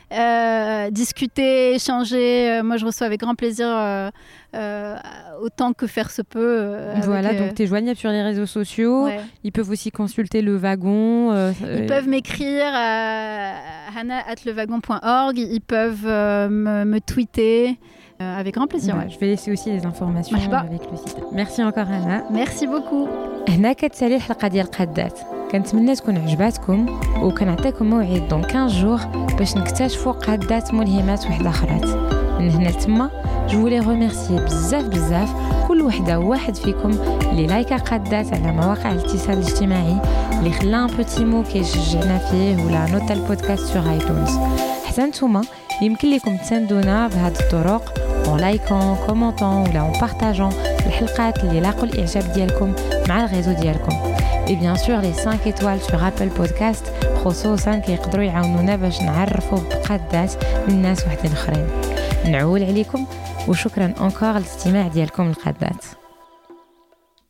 Discuter, échanger. Moi, je reçois avec grand plaisir autant que faire se peut. Voilà, donc tu es joignable sur les réseaux sociaux. Ouais. Ils peuvent aussi consulter le wagon. Ils peuvent m'écrire à hana@lewagon.org. Ils peuvent me tweeter. Avec grand plaisir. Ouais. Je vais laisser aussi les informations avec le site. Merci encore Hana. Merci beaucoup. هنا كتسالي الحلقه ديال قادات. كنتمنى تكون عجباتكم وكنعطيكم موعد دون 15 جور باش نكتشفوا قادات ملهمات وحده اخرات. من هنا لتما جو لي ريميرسي بزاف كل وحده وواحد فيكم اللي لايكا قادات على مواقع الاتصال الاجتماعي، اللي خلا ان بوتي مو كيشجعنا فيه ولا نوتا البودكاست سور ايتونز. حتى نتوما يمكن لكم تساندونا بهذه الطرق en likant, commentant ولا en partageant الحلقات اللي لاقوا الإعجاب ديالكم مع الريزو ديالكم. Et bien sûr les 5 étoiles sur Apple Podcast خصوصا كيقدروا يعاونونا باش نعرفوا بقادات من ناس وحدين اخرين. نعول عليكم وشكرا encore للاستماع ديالكم للقادات.